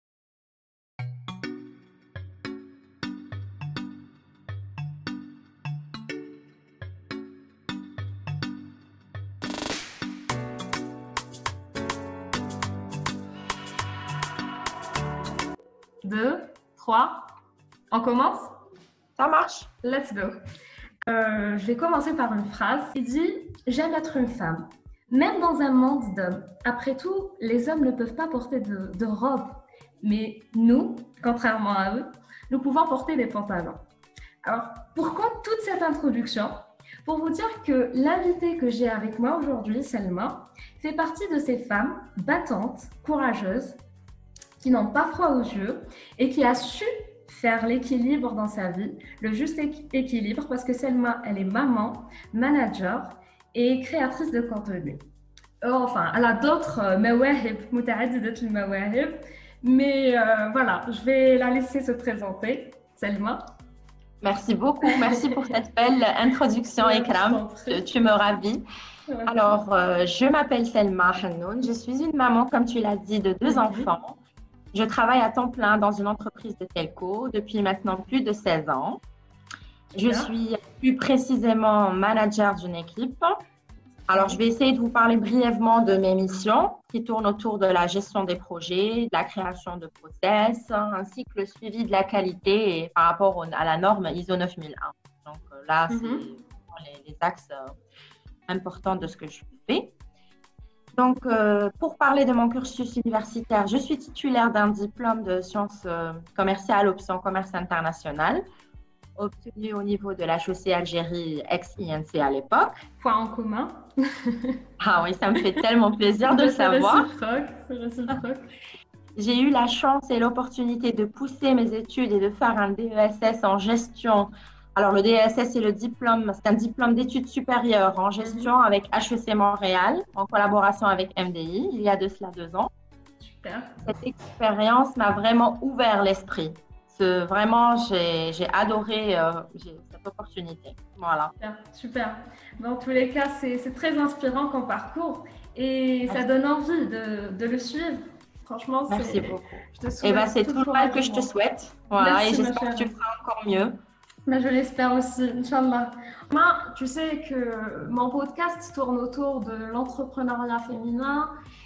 Deux, trois. On commence? Ça marche? Let's go. Euh, je vais commencer par une phrase qui dit « J'aime être une femme, même dans un monde d'hommes. Après tout, les hommes ne peuvent pas porter de, de robe, mais nous, contrairement à eux, nous pouvons porter des pantalons. » Alors, pourquoi toute cette introduction? Pour vous dire que l'invitée que j'ai avec moi aujourd'hui, Selma, fait partie de ces femmes battantes, courageuses, qui n'ont pas froid aux yeux et qui a su faire l'équilibre dans sa vie, le juste équ- équilibre, parce que Selma, elle est maman, manager et créatrice de contenu. Euh, Enfin, elle a d'autres euh, mawahib, متعددة المواهب, mais euh, voilà, je vais la laisser se présenter. Selma. Merci beaucoup. Merci pour cette belle introduction, Ouais, je Ikram. t'en prie. Tu, tu me ravis. Merci. Alors, euh, je m'appelle Selma Hannoun. Je suis une maman, comme tu l'as dit, de deux Mhm. enfants. Je travaille à temps plein dans une entreprise de telco depuis maintenant plus de seize ans. Je Bien. suis plus précisément manager d'une équipe. Alors, je vais essayer de vous parler brièvement de mes missions qui tournent autour de la gestion des projets, de la création de process, ainsi que le suivi de la qualité et par rapport au- à la norme I S O neuf mille un. Donc euh, là, c'est Mhm. vraiment les, les axes euh, importants de ce que je fais. Donc, euh, pour parler de mon cursus universitaire, je suis titulaire d'un diplôme de sciences euh, commerciales, option commerce international, obtenu au niveau de la H E C Algérie ex-I N C à l'époque. Point en commun. Ah oui, ça me fait tellement plaisir de le C'est savoir. réciproque, c'est réciproque. J'ai eu la chance et l'opportunité de pousser mes études et de faire un D E S S en gestion. Alors, le D E S S, c'est le diplôme, c'est un diplôme d'études supérieures en gestion avec H E C Montréal, en collaboration avec M D I, il y a de cela deux ans. Super. Cette expérience m'a vraiment ouvert l'esprit. Ce- Vraiment, j'ai j'ai adoré euh, j'ai- cette opportunité. Voilà. Super, super. Dans tous les cas, c'est c'est très inspirant comme parcours et ça Merci. donne envie de, de le suivre. Franchement, Merci c'est. beaucoup. Je te Et souhaite ben, c'est tout tout le le mal que je te courage. souhaite. Voilà. Merci, Et ma j'espère que tu chère. le feras encore mieux. Mais je l'espère aussi, Inch'Allah. Moi, tu sais que mon podcast tourne autour de l'entrepreneuriat féminin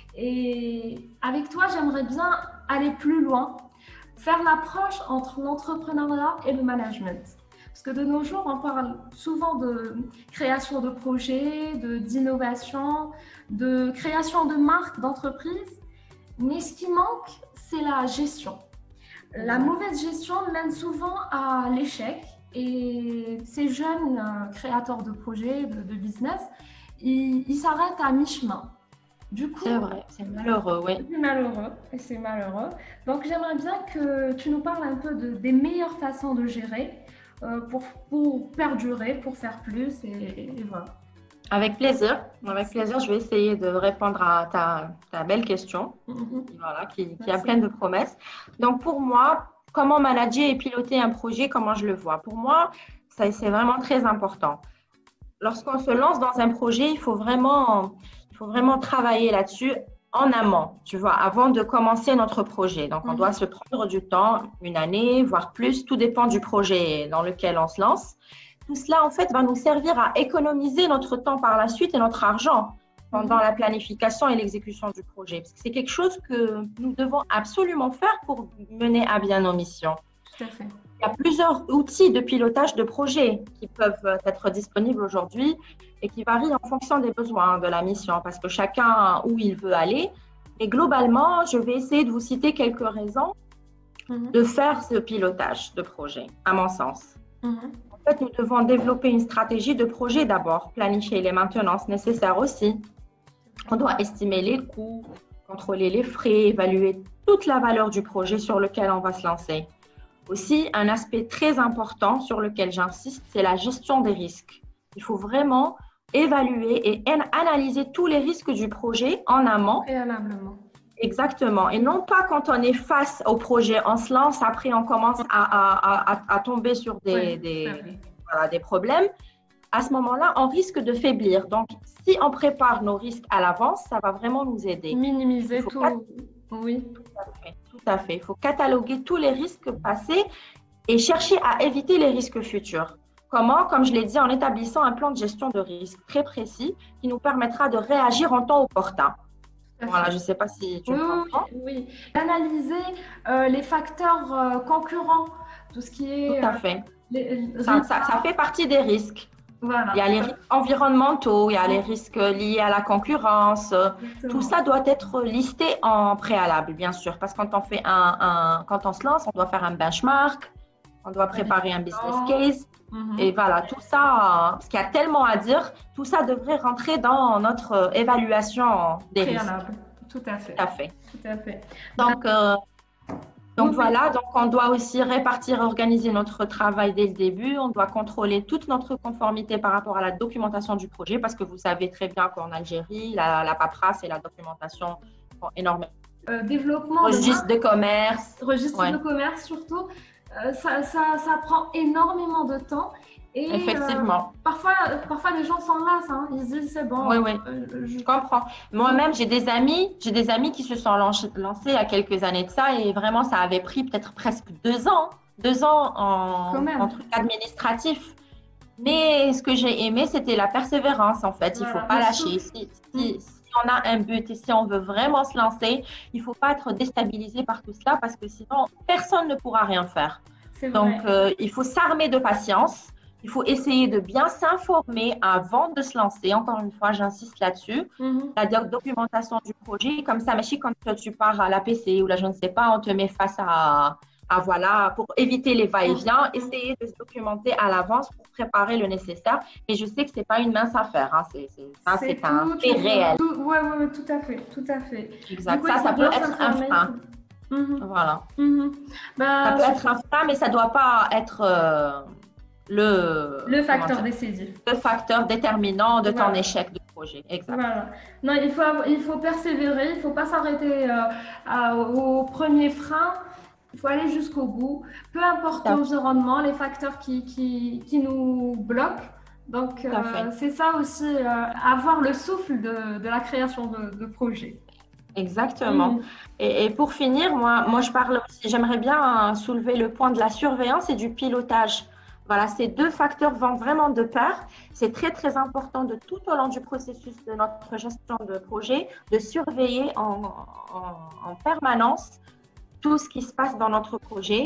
et avec toi, j'aimerais bien aller plus loin, faire l'approche entre l'entrepreneuriat et le management. Parce que de nos jours, on parle souvent de création de projets, de, d'innovation, de création de marques, d'entreprises, mais ce qui manque, c'est la gestion. La mauvaise gestion mène souvent à l'échec et ces jeunes euh, créateurs de projets, de, de business, ils, ils s'arrêtent à mi-chemin. Du coup, C'est vrai, c'est malheureux, oui. c'est malheureux et c'est malheureux. Donc, j'aimerais bien que tu nous parles un peu de, des meilleures façons de gérer euh, pour, pour perdurer, pour faire plus et, et voilà. Avec plaisir. Avec plaisir, je vais essayer de répondre à ta, ta belle question, Mhm. voilà, qui, qui a Merci. plein de promesses. Donc, pour moi, comment manager et piloter un projet, comment je le vois? Pour moi, ça, c'est vraiment très important. Lorsqu'on se lance dans un projet, il faut vraiment, il faut vraiment travailler là-dessus en amont, tu vois, avant de commencer notre projet. Donc, on Mhm. doit se prendre du temps, une année, voire plus, tout dépend du projet dans lequel on se lance. Tout cela, en fait, va nous servir à économiser notre temps par la suite et notre argent pendant la planification et l'exécution du projet. Parce que c'est quelque chose que nous devons absolument faire pour mener à bien nos missions. Tout à fait. Il y a plusieurs outils de pilotage de projet qui peuvent être disponibles aujourd'hui et qui varient en fonction des besoins de la mission parce que chacun a où il veut aller. Et globalement, je vais essayer de vous citer quelques raisons Mhm. de faire ce pilotage de projet, à mon sens. Mhm. En fait, nous devons développer une stratégie de projet d'abord, planifier les maintenances nécessaires aussi. On doit estimer les coûts, contrôler les frais, évaluer toute la valeur du projet sur lequel on va se lancer. Aussi, un aspect très important sur lequel j'insiste, c'est la gestion des risques. Il faut vraiment évaluer et analyser tous les risques du projet en amont. Préalablement. Exactement. Et non pas quand on est face au projet, on se lance, après on commence à, à, à, à tomber sur des, Oui, des, voilà. voilà, des problèmes. À ce moment-là, on risque de faiblir. Donc, si on prépare nos risques à l'avance, ça va vraiment nous aider. Minimiser tout. Cat... Oui. Tout à fait. Tout à fait. Il faut cataloguer tous les risques passés et chercher à éviter les risques futurs. Comment? Comme je l'ai dit, en établissant un plan de gestion de risque très précis qui nous permettra de réagir en temps opportun. Voilà, je ne sais pas si tu oui, comprends. Oui, oui. Analyser euh, les facteurs euh, concurrents, tout ce qui est… Tout à fait. Euh, les, ça, ça, ça fait partie des risques. Voilà. Il y a les risques environnementaux, il y a les risques liés à la concurrence. Exactement. Tout ça doit être listé en préalable, bien sûr, parce que quand on fait un, un, quand on se lance, on doit faire un benchmark, on doit préparer un business case. Mm-hmm. Et voilà, tout ça, parce qu'il y a tellement à dire, tout ça devrait rentrer dans notre évaluation des préalable. Risques. Tout à fait. Tout à fait. Tout à fait. Donc, euh, Donc oui, voilà, donc on doit aussi répartir, organiser notre travail dès le début. On doit contrôler toute notre conformité par rapport à la documentation du projet parce que vous savez très bien qu'en Algérie, la, la paperasse et la documentation sont énormément. Euh, développement registre de, de commerce. Registre ouais. de commerce surtout, euh, ça, ça, ça prend énormément de temps. Et effectivement. Euh, parfois, parfois, les gens s'en lassent. Hein. Ils se disent, c'est bon. Oui, oui, euh, je comprends. Moi-même, j'ai des amis, j'ai des amis qui se sont lancés il y a quelques années de ça et vraiment, ça avait pris peut-être presque deux ans, deux ans en, en truc administratif. Mais ce que j'ai aimé, c'était la persévérance, en fait. Il ne voilà, faut pas lâcher. Si, si, si on a un but et si on veut vraiment se lancer, il ne faut pas être déstabilisé par tout cela parce que sinon, personne ne pourra rien faire. Donc, euh, il faut s'armer de patience. Il faut essayer de bien s'informer avant de se lancer. Encore une fois, j'insiste là-dessus. Mm-hmm. La documentation du projet, comme ça, mais si quand tu pars à l'A P C ou là, je ne sais pas, on te met face à, à voilà, pour éviter les va-et-vient, mm-hmm. essayer de se documenter à l'avance pour préparer le nécessaire. Et je sais que ce n'est pas une mince affaire. Hein. C'est, c'est, ça, c'est, c'est un fait réel. Oui, oui, oui, tout à fait. Tout à fait. Exact. Coup, ça, ça peut être un frein. Mm-hmm. Voilà. Mm-hmm. Bah, ça peut être un frein, mais ça ne doit pas être… Euh, Le, le facteur décisif. Le facteur déterminant de voilà. ton échec de projet. Exact. Voilà. Non, il faut, il faut persévérer, il ne faut pas s'arrêter euh, à, au premier frein. Il faut aller jusqu'au bout. Peu importe l'environnement, les facteurs qui, qui, qui nous bloquent. Donc, euh, c'est ça aussi, euh, avoir le souffle de, de la création de, de projet. Exactement. Mmh. Et, et pour finir, moi, moi je parle aussi, j'aimerais bien soulever le point de la surveillance et du pilotage. Voilà, ces deux facteurs vont vraiment de pair. C'est très, très important de tout au long du processus de notre gestion de projet, de surveiller en, en, en permanence tout ce qui se passe dans notre projet.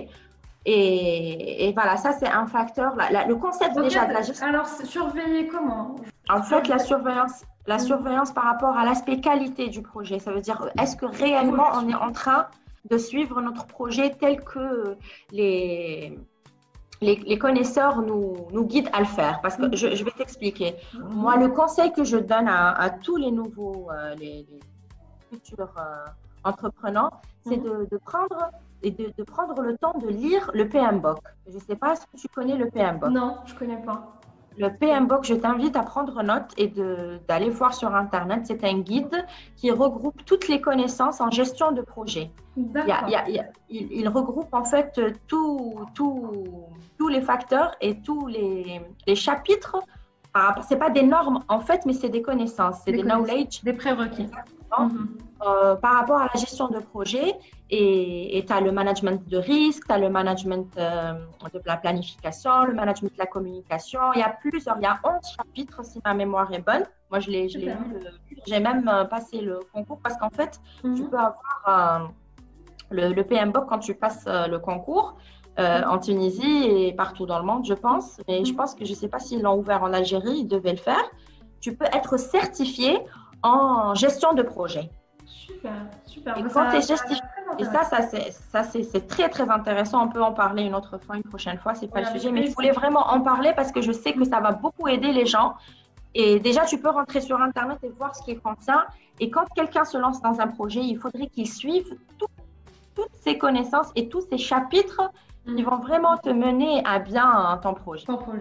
Et, et voilà, ça, c'est un facteur. La, la, le concept okay, déjà de la gestion. Alors, surveiller comment? En fait, la surveillance, la mmh. surveillance par rapport à l'aspect qualité du projet. Ça veut dire, est-ce que réellement on est en train de suivre notre projet tel que les… Les, les connaisseurs nous, nous guident à le faire. Parce que je, je vais t'expliquer. Moi, le conseil que je donne à, à tous les nouveaux, euh, les, les futurs euh, entrepreneurs, c'est de, de, prendre, et de, de prendre le temps de lire le P M B O K. Je ne sais pas si tu connais le P M B O K. Non, je ne connais pas. Le P M B O K, je t'invite à prendre note et de, d'aller voir sur Internet. C'est un guide qui regroupe toutes les connaissances en gestion de projet. Il, y a, il, y a, il, y a, il, il regroupe en fait tout, tout, tous les facteurs et tous les, les chapitres. Ce n'est pas des normes en fait, mais c'est des connaissances, c'est des, des knowledge. Des prérequis. Mm-hmm. Euh, par rapport à la gestion de projet. Et tu as le management de risque, tu as le management euh, de la planification, le management de la communication. Il y a plusieurs, il y a onze chapitres si ma mémoire est bonne. Moi, je l'ai, je l'ai lu, le, j'ai même passé le concours parce qu'en fait, mm-hmm. tu peux avoir euh, le, le P M B O K quand tu passes euh, le concours euh, mm-hmm. en Tunisie et partout dans le monde, je pense. Mais mm-hmm. je pense que je ne sais pas s'ils l'ont ouvert en Algérie, ils devaient le faire. Tu peux être certifié en gestion de projet. Super, super. Et quand tu es certifié, et ça, ça, c'est, ça c'est, c'est très, très intéressant. On peut en parler une autre fois, une prochaine fois, c'est pas ouais, le sujet. Mais je voulais vraiment en parler parce que je sais que ça va beaucoup aider les gens. Et déjà, tu peux rentrer sur Internet et voir ce qu'il contient. Et quand quelqu'un se lance dans un projet, il faudrait qu'il suive tout, toutes ces connaissances et tous ces chapitres mm. qui vont vraiment te mener à bien ton projet. Ton projet.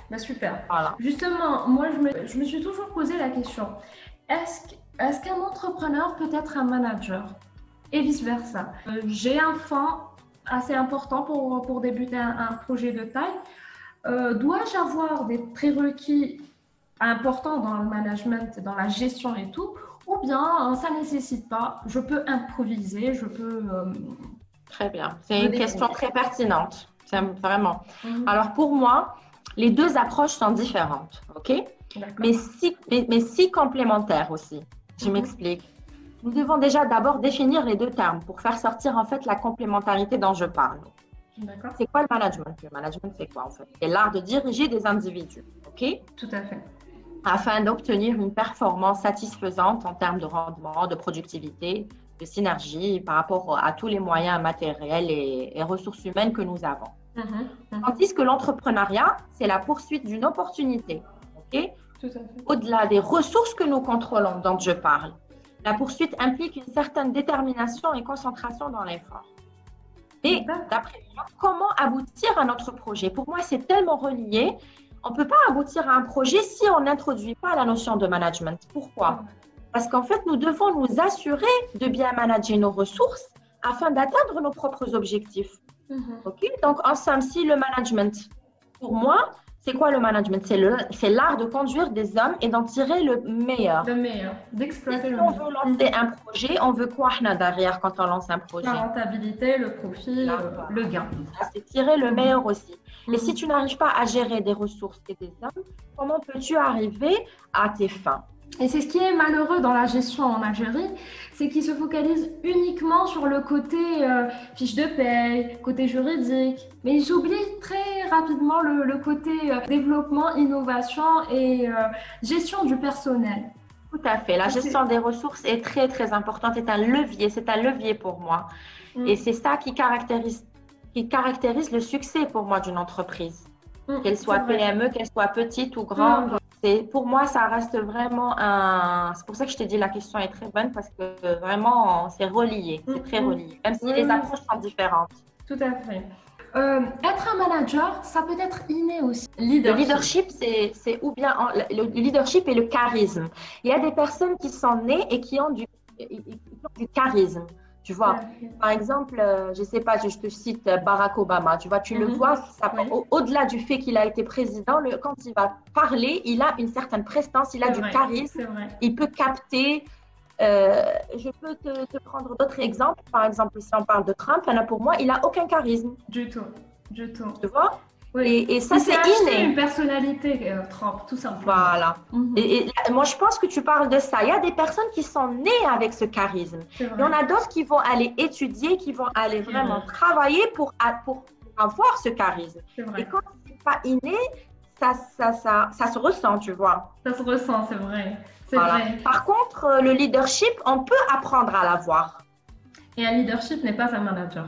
Bah, super. Voilà. Justement, moi, je me, je me suis toujours posé la question, est-ce, qu- est-ce qu'un entrepreneur peut être un manager? Et vice-versa. Euh, j'ai un fonds assez important pour, pour débuter un, un projet de taille. Euh, dois-je avoir des prérequis importants dans le management, dans la gestion et tout, ou bien euh, ça ne nécessite pas, je peux improviser, je peux euh, Très bien. C'est me une question débrouiller. très pertinente. C'est vraiment. Mhm. Alors, pour moi, les deux approches sont différentes, OK? D'accord. Mais si, mais, mais si complémentaires aussi. Je Mhm. m'explique. Nous devons déjà d'abord définir les deux termes pour faire sortir en fait la complémentarité dont je parle. D'accord. C'est quoi le management? Le management, c'est quoi en fait? C'est l'art de diriger des individus, OK? Tout à fait. Afin d'obtenir une performance satisfaisante en termes de rendement, de productivité, de synergie par rapport à tous les moyens matériels et, et ressources humaines que nous avons. Mhm. Mhm. Tandis que l'entrepreneuriat, c'est la poursuite d'une opportunité, ok? Tout à fait. Au-delà des ressources que nous contrôlons, dont je parle. La poursuite implique une certaine détermination et concentration dans l'effort. Et D'accord. d'après moi, comment aboutir à notre projet? Pour moi, c'est tellement relié. On ne peut pas aboutir à un projet si on n'introduit pas la notion de management. Pourquoi? Parce qu'en fait, nous devons nous assurer de bien manager nos ressources afin d'atteindre nos propres objectifs. Mhm. Ok? Donc, en somme, si le management, pour moi, c'est quoi le management? C'est le, c'est l'art de conduire des hommes et d'en tirer le meilleur. Le meilleur, Et d'exploiter si le on meilleur. veut lancer un projet, on veut quoi Hna, derrière quand on lance un projet? La rentabilité, le profit, Là, euh, voilà. le gain. C'est tirer le meilleur aussi. Mhm. Et si tu n'arrives pas à gérer des ressources et des hommes, comment peux-tu arriver à tes fins? Et c'est ce qui est malheureux dans la gestion en Algérie, c'est qu'ils se focalisent uniquement sur le côté euh, fiche de paye, côté juridique, mais ils oublient très rapidement le, le côté euh, développement, innovation et euh, gestion du personnel. Tout à fait. La C'est- gestion des ressources est très, très importante. C'est un levier. C'est un levier pour moi. Mm. Et c'est ça qui caractérise, qui caractérise le succès pour moi d'une entreprise. Mm, Qu'elle soit c'est vrai. P M E, qu'elle soit petite ou grande. C'est, pour moi, ça reste vraiment un… C'est pour ça que je te dis la question est très bonne parce que vraiment, c'est relié. C'est très Mm, mm. relié. Même si Oui, les oui. approches sont différentes. Tout à fait. Euh, être un manager, ça peut être inné aussi. Le Leadership. leadership, c'est, c'est ou bien en- le leadership et le charisme. Il y a des personnes qui sont nées et qui ont du, qui ont du charisme. Tu vois, par exemple, euh, je ne sais pas, je, je te cite euh, Barack Obama. Tu vois, tu le Mhm. vois, ça- Oui. au- au-delà du fait qu'il a été président, le- quand il va parler, il a une certaine prestance, il a C'est du vrai, charisme, c'est vrai. il peut capter. euh, je peux te, te prendre d'autres exemples. Par exemple, si on parle de Trump, il y en a pour moi, il n'a aucun charisme. Du tout, du tout. Tu vois? Oui. Et, et ça, Il s'est c'est acheté inné. une personnalité, euh, Trump, tout simplement. Voilà. Mhm. Et, et là, moi, je pense que tu parles de ça. Il y a des personnes qui sont nées avec ce charisme. C'est Il y vrai. en a d'autres qui vont aller étudier, qui vont aller C'est vraiment vrai. travailler pour, pour avoir ce charisme. C'est Et vrai. quand c'est pas inné, ça, ça, ça, ça se ressent, tu vois. Ça se ressent, c'est vrai. C'est Voilà. vrai. Par contre, euh, le leadership, on peut apprendre à l'avoir. Et un leadership n'est pas un manager.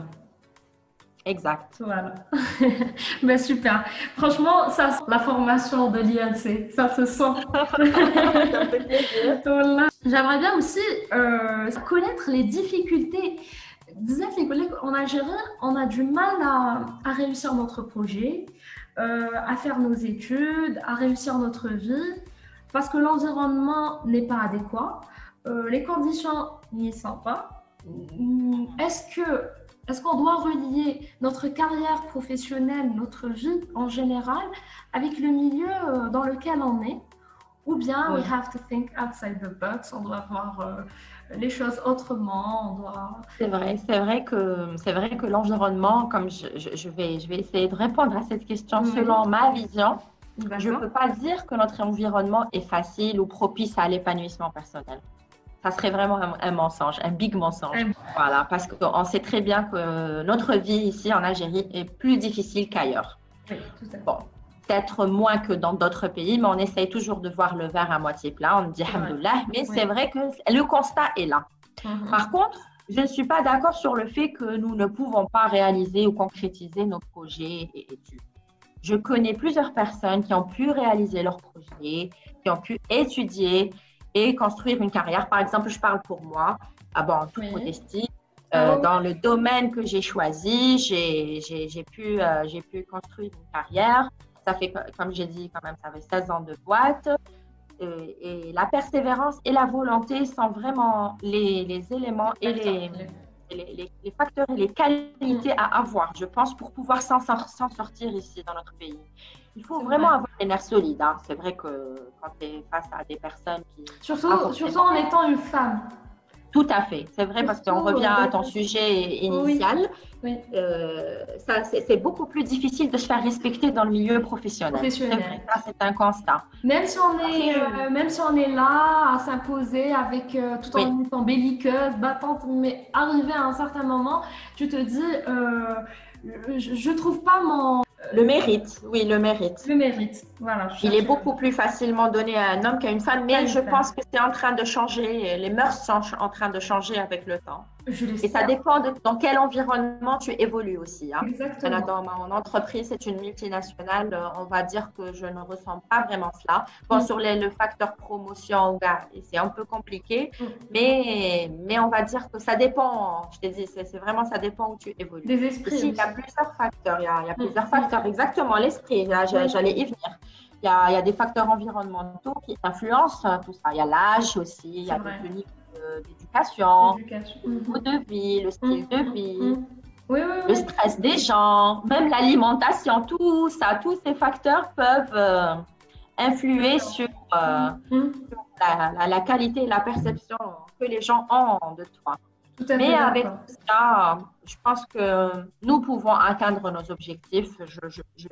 Exact. Voilà. Ben, super. Franchement, ça sent la formation de l'I N C. Ça se sent. Ça fait plaisir. Voilà. J'aimerais bien aussi euh, connaître les difficultés. Disais les collègues en Algérie, on a du mal à, à réussir notre projet, euh, à faire nos études, à réussir notre vie, parce que l'environnement n'est pas adéquat, euh, les conditions n'y sont pas. Est-ce que est-ce qu'on doit relier notre carrière professionnelle, notre vie en général, avec le milieu euh, dans lequel on est? Ou bien, Oui. we have to think outside the box, on doit voir euh, les choses autrement, on doit… C'est vrai, c'est vrai que c'est vrai que l'environnement, comme je, je, je vais, je vais essayer de répondre à cette question Mhm. selon ma vision. Je ne D'accord. peux pas dire que notre environnement est facile ou propice à l'épanouissement personnel. Ça serait vraiment un, un mensonge, un big mensonge. Un- Voilà, parce qu'on sait très bien que notre vie ici en Algérie est plus difficile qu'ailleurs. Oui, tout à fait. Bon, peut-être moins que dans d'autres pays, mais on essaye toujours de voir le verre à moitié plein. On dit vrai. alhamdoulilah, mais Oui. c'est vrai que le constat est là. Mhm. Par contre, je ne suis pas d'accord sur le fait que nous ne pouvons pas réaliser ou concrétiser nos projets et études. Je connais plusieurs personnes qui ont pu réaliser leurs projets, qui ont pu étudier et construire une carrière. Par exemple, je parle pour moi, ah bon, en toute Oui. modestie, Ah euh, oui. dans le domaine que j'ai choisi, j'ai, j'ai, j'ai pu, euh, j'ai pu construire une carrière ça fait, comme j'ai dit, quand même, ça fait seize ans de boîte. Et, et la persévérance et la volonté sont vraiment les, les éléments et les, les, les, les facteurs et les qualités à avoir, je pense, pour pouvoir s'en sortir ici dans notre pays. Il faut vraiment vrai. avoir les nerfs solides. Hein. C'est vrai que quand tu es face à des personnes qui... Surtout, surtout en étant une femme. Tout à fait, c'est vrai, parce qu'on revient à ton sujet initial. Oui. Oui. Euh, ça, c'est beaucoup plus difficile de se faire respecter dans le milieu professionnel. professionnel. C'est vrai, ça, c'est un constat. Même si on est, euh, même si on est là à s'imposer avec euh, tout en oui. étant belliqueuse, battante, mais arrivé à un certain moment, tu te dis, euh, je ne trouve pas mon... Le mérite, oui, le mérite. Le mérite, voilà. Il est beaucoup plus facilement donné à un homme qu'à une femme, mais je pense que c'est en train de changer, les mœurs sont en train de changer avec le temps. Je Et ça dépend de dans quel environnement tu évolues aussi. Hein. Exactement. Dans mon entreprise, c'est une multinationale, on va dire que je ne ressens pas vraiment cela. Bon, mm. sur les, le facteur promotion, c'est un peu compliqué, mm. mais, mais on va dire que ça dépend, je t'ai dit, c'est vraiment ça dépend où tu évolues. Des esprits. Ici, il y a plusieurs facteurs, il y a, il y a plusieurs mm. facteurs, exactement, l'esprit, j'allais y venir. Il y, a, il y a des facteurs environnementaux qui influencent tout ça. Il y a l'âge aussi, il y a des niveaux d'éducation, le niveau de vie, le style de vie, oui, oui, oui. le stress des gens, même l'alimentation, tout ça, tous ces facteurs peuvent euh, influer sur, euh, sur la, la, la qualité et la perception que les gens ont de toi. Tout à Mais fait avec tout ça, je pense que nous pouvons atteindre nos objectifs. Je, je, je...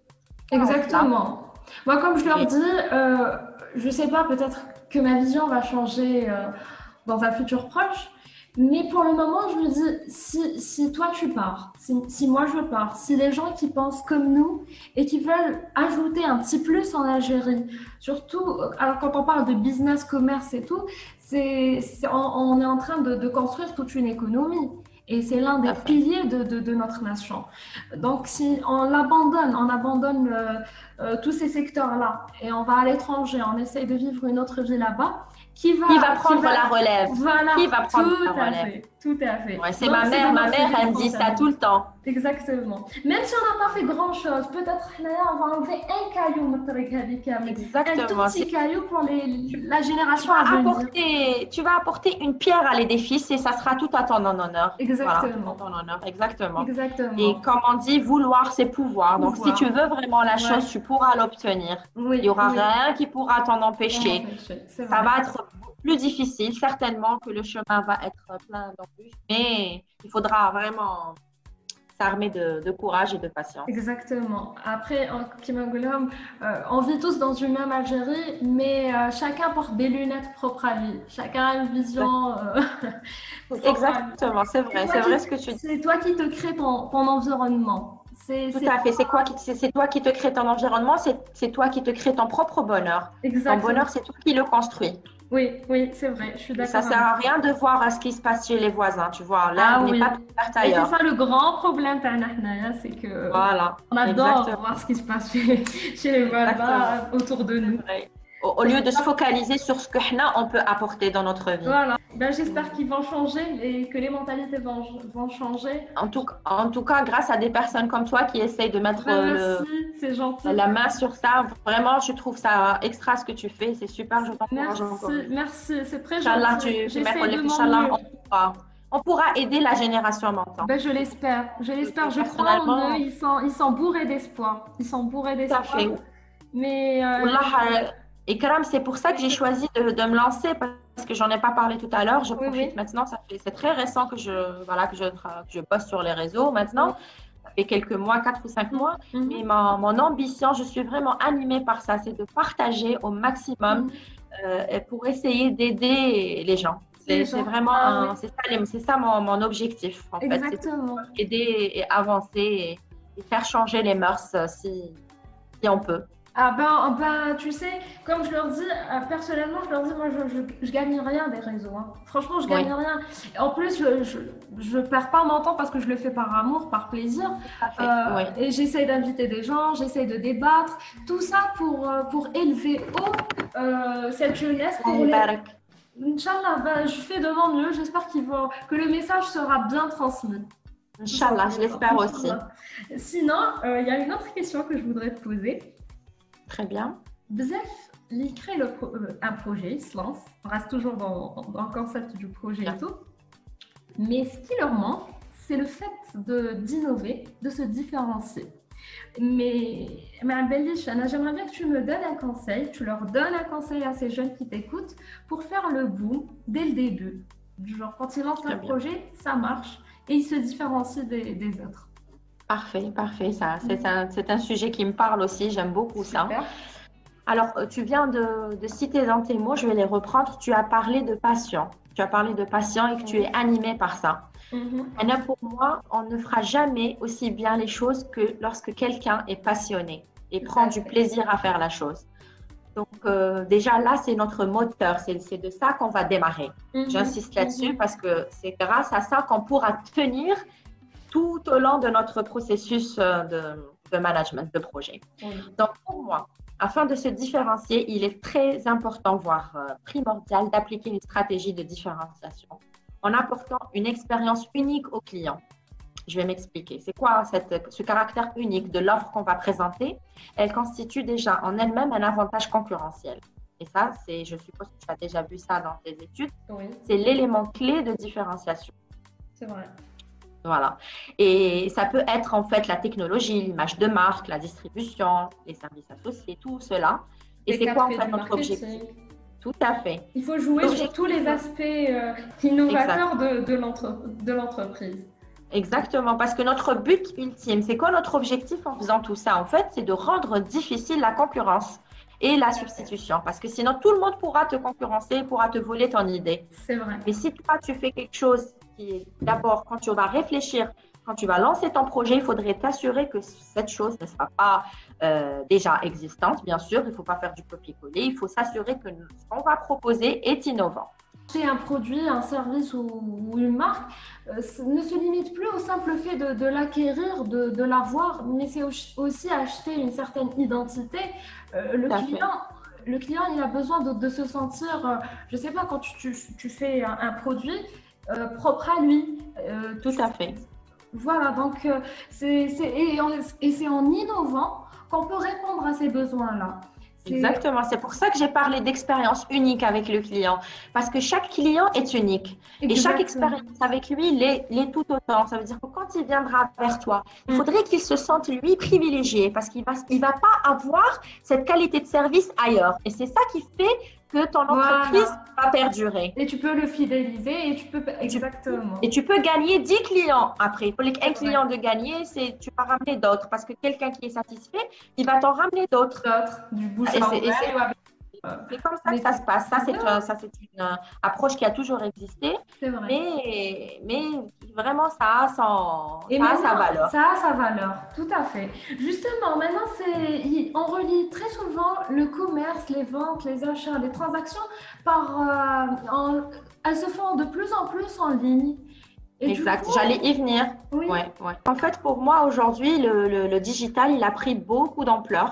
Exactement. Moi, comme je leur dis, euh, je ne sais pas, peut-être que ma vision va changer euh, dans un futur proche, mais pour le moment, je me dis, si, si toi tu pars, si, si moi je pars, si les gens qui pensent comme nous et qui veulent ajouter un petit plus en Algérie, surtout, alors quand on parle de business, commerce et tout, c'est, c'est, on, on est en train de, de construire toute une économie. Et c'est l'un des piliers de, de, de notre nation. Donc, si on l'abandonne, on abandonne euh, euh, tous ces secteurs-là et on va à l'étranger, on essaye de vivre une autre vie là-bas, qui va, qui va prendre qui va, la relève voilà, Qui va prendre tout la à relève fait, tout à fait. Ouais, c'est ma mère, ma mère, elle me dit ça tout le temps. Exactement. Même si on n'a pas fait grand-chose, peut-être là, on va enlever un caillou, Exactement. un tout petit caillou pour les, la génération tu à venir. Apporter, tu vas apporter une pierre à l'édifice et ça sera tout à ton honneur. Exactement. Voilà, ton honneur. Exactement. Exactement. Et comme on dit, vouloir, c'est pouvoir. pouvoir. Donc, si tu veux vraiment la chose, ouais. tu pourras l'obtenir. Oui, Il n'y aura oui. rien qui pourra t'en empêcher. empêcher. Ça va être plus difficile, certainement que le chemin va être plein d'embûches, mais il faudra vraiment s'armer de, de courage et de patience. Exactement. Après, euh, on vit tous dans une même Algérie, mais euh, chacun porte des lunettes propres à lui. Chacun a une vision. Euh, Exactement, c'est vrai, c'est vrai ce que tu dis. C'est toi qui te crée ton, ton environnement. C'est, Tout à fait, c'est, quoi qui, c'est, c'est toi qui te crée ton environnement, c'est, c'est toi qui te crée ton propre bonheur. Exactement. Ton bonheur, c'est toi qui le construis. Oui, oui, c'est vrai, je suis d'accord. Ça ne sert à rien de voir ce qui se passe chez les voisins, tu vois. Là, ah, on n'est oui. pas plus verte ailleurs. Et c'est ça le grand problème, c'est que voilà, on adore exactement. voir ce qui se passe chez, chez les voisins autour de nous. Au, au lieu de se focaliser sur ce que on peut apporter dans notre vie. Voilà. Ben, j'espère qu'ils vont changer et que les mentalités vont, vont changer. En tout, en tout cas, grâce à des personnes comme toi qui essayent de mettre ben, le, merci, c'est gentil. la main sur ça, vraiment, je trouve ça extra ce que tu fais. C'est super, je t'encourage encore. Merci, merci, c'est très Inch'Allah, gentil. Tu, Inch'Allah, on pourra, on pourra aider la génération maintenant. Ben, je l'espère, je l'espère, je crois en eux. Ils sont, ils sont bourrés d'espoir. Ils sont bourrés d'espoir. Tout à fait. Mais euh, Wallah, et Karam, c'est pour ça que j'ai choisi de, de me lancer parce que j'en ai pas parlé tout à l'heure. Je profite oui, oui. maintenant, ça fait, c'est très récent que je, voilà, que je, que je poste sur les réseaux maintenant. Oui. Ça fait quelques mois, quatre ou cinq mois. Mm-hmm. Mais ma, mon ambition, je suis vraiment animée par ça, c'est de partager au maximum mm-hmm. euh, pour essayer d'aider les gens. C'est, c'est vraiment, ah, un, oui. c'est ça, c'est ça mon, mon objectif en Exactement. fait. C'est aider et avancer et, et faire changer les mœurs si, si on peut. Ah ben, ben, tu sais, comme je leur dis, euh, personnellement, je leur dis, moi, je, je, je gagne rien des réseaux. Hein. Franchement, je gagne oui. rien. En plus, je, je, je perds pas mon temps parce que je le fais par amour, par plaisir. Fait, euh, oui. Et j'essaye d'inviter des gens, j'essaye de débattre. Tout ça pour, pour élever haut euh, cette jeunesse. Pour les... Inch'Allah, ben, je fais de mon mieux. J'espère qu'ils vont, que le message sera bien transmis. Inch'Allah, je l'espère aussi. Sinon, il euh, y a une autre question que je voudrais te poser. Très bien. Bzef, il crée le pro euh, un projet, il se lance. On reste toujours dans, dans le concept du projet bien. Et tout. Mais ce qui leur manque, c'est le fait d'innover, de, de se différencier. Mais, mais j'aimerais bien que tu me donnes un conseil, tu leur donnes un conseil à ces jeunes qui t'écoutent pour faire le boom dès le début. Genre, quand ils lancent un projet, ça marche et ils se différencient des, des autres. Parfait, parfait. Ça, c'est un, c'est un sujet qui me parle aussi, j'aime beaucoup ça. Super. Alors, tu viens de, de citer dans tes mots, je vais les reprendre. Tu as parlé de passion. Tu as parlé de passion et que tu es animé par ça. Mm-hmm. Et pour moi, on ne fera jamais aussi bien les choses que lorsque quelqu'un est passionné et prend du plaisir à faire la chose. Donc, euh, déjà là, c'est notre moteur. C'est de ça qu'on va démarrer. Mm-hmm. J'insiste là-dessus mm-hmm. parce que c'est grâce à ça qu'on pourra tenir tout au long de notre processus de, de management de projet. Mm-hmm. Donc, pour moi, afin de se différencier, il est très important, voire euh, primordial, d'appliquer une stratégie de différenciation en apportant une expérience unique au client. Je vais m'expliquer. C'est quoi cette, ce caractère unique de l'offre qu'on va présenter? Elle constitue déjà en elle-même un avantage concurrentiel. Et ça, c'est, je suppose que tu as déjà vu ça dans tes études, oui. C'est l'élément clé de différenciation. C'est vrai. Voilà. Et ça peut être en fait la technologie, l'image de marque, la distribution, les services associés, tout cela. Et c'est quoi en fait notre objectif? Tout à fait. Il faut jouer sur tous les aspects euh, innovateurs exact. de l'entreprise. Exactement, parce que notre but ultime, c'est quoi notre objectif en faisant tout ça? En fait, c'est de rendre difficile la concurrence et la substitution. Parce que sinon, tout le monde pourra te concurrencer, pourra te voler ton idée. C'est vrai. Mais si toi, tu fais quelque chose qui, d'abord, quand tu vas réfléchir, quand tu vas lancer ton projet, il faudrait t'assurer que cette chose ne sera pas euh, déjà existante, bien sûr. Il ne faut pas faire du copier-coller. Il faut s'assurer que ce qu'on va proposer est innovant. Acheter un produit, un service ou, ou une marque euh, ne se limite plus au simple fait de, de l'acquérir, de, de l'avoir, mais c'est aussi acheter une certaine identité. Euh, le, client, le client, il a besoin de, de se sentir, euh, je ne sais pas, quand tu, tu, tu fais un, un produit euh, propre à lui. Euh, Tout tu, à fait. Voilà, donc euh, c'est et, et c'est en innovant qu'on peut répondre à ces besoins-là. Exactement, c'est pour ça que j'ai parlé d'expérience unique avec le client, parce que chaque client est unique. Exactement. Et chaque expérience avec lui l'est tout autant. Ça veut dire que quand il viendra vers toi, il faudrait qu'il se sente lui privilégié, parce qu'il ne va, il va pas avoir cette qualité de service ailleurs. Et c'est ça qui fait que ton entreprise voilà. va perdurer. Et tu peux le fidéliser et tu peux exactement. Et tu peux gagner dix clients après. Pour un client de gagner, c'est tu vas ramener d'autres parce que quelqu'un qui est satisfait, il va t'en ramener d'autres. D'autres, du bouche à oreille. C'est comme ça que ça se passe. Ça, c'est un, ça, c'est une euh, approche qui a toujours existé. C'est vrai. Mais, mais vraiment, ça a, son, Et ça a sa valeur. Ça a sa valeur, tout à fait. Justement, maintenant, on relie très souvent le commerce, les ventes, les achats, les transactions, par, euh, en, elles se font de plus en plus en ligne. Et exact, j'allais y venir. Oui. Ouais, ouais. En fait, pour moi, aujourd'hui, le, le, le digital, il a pris beaucoup d'ampleur.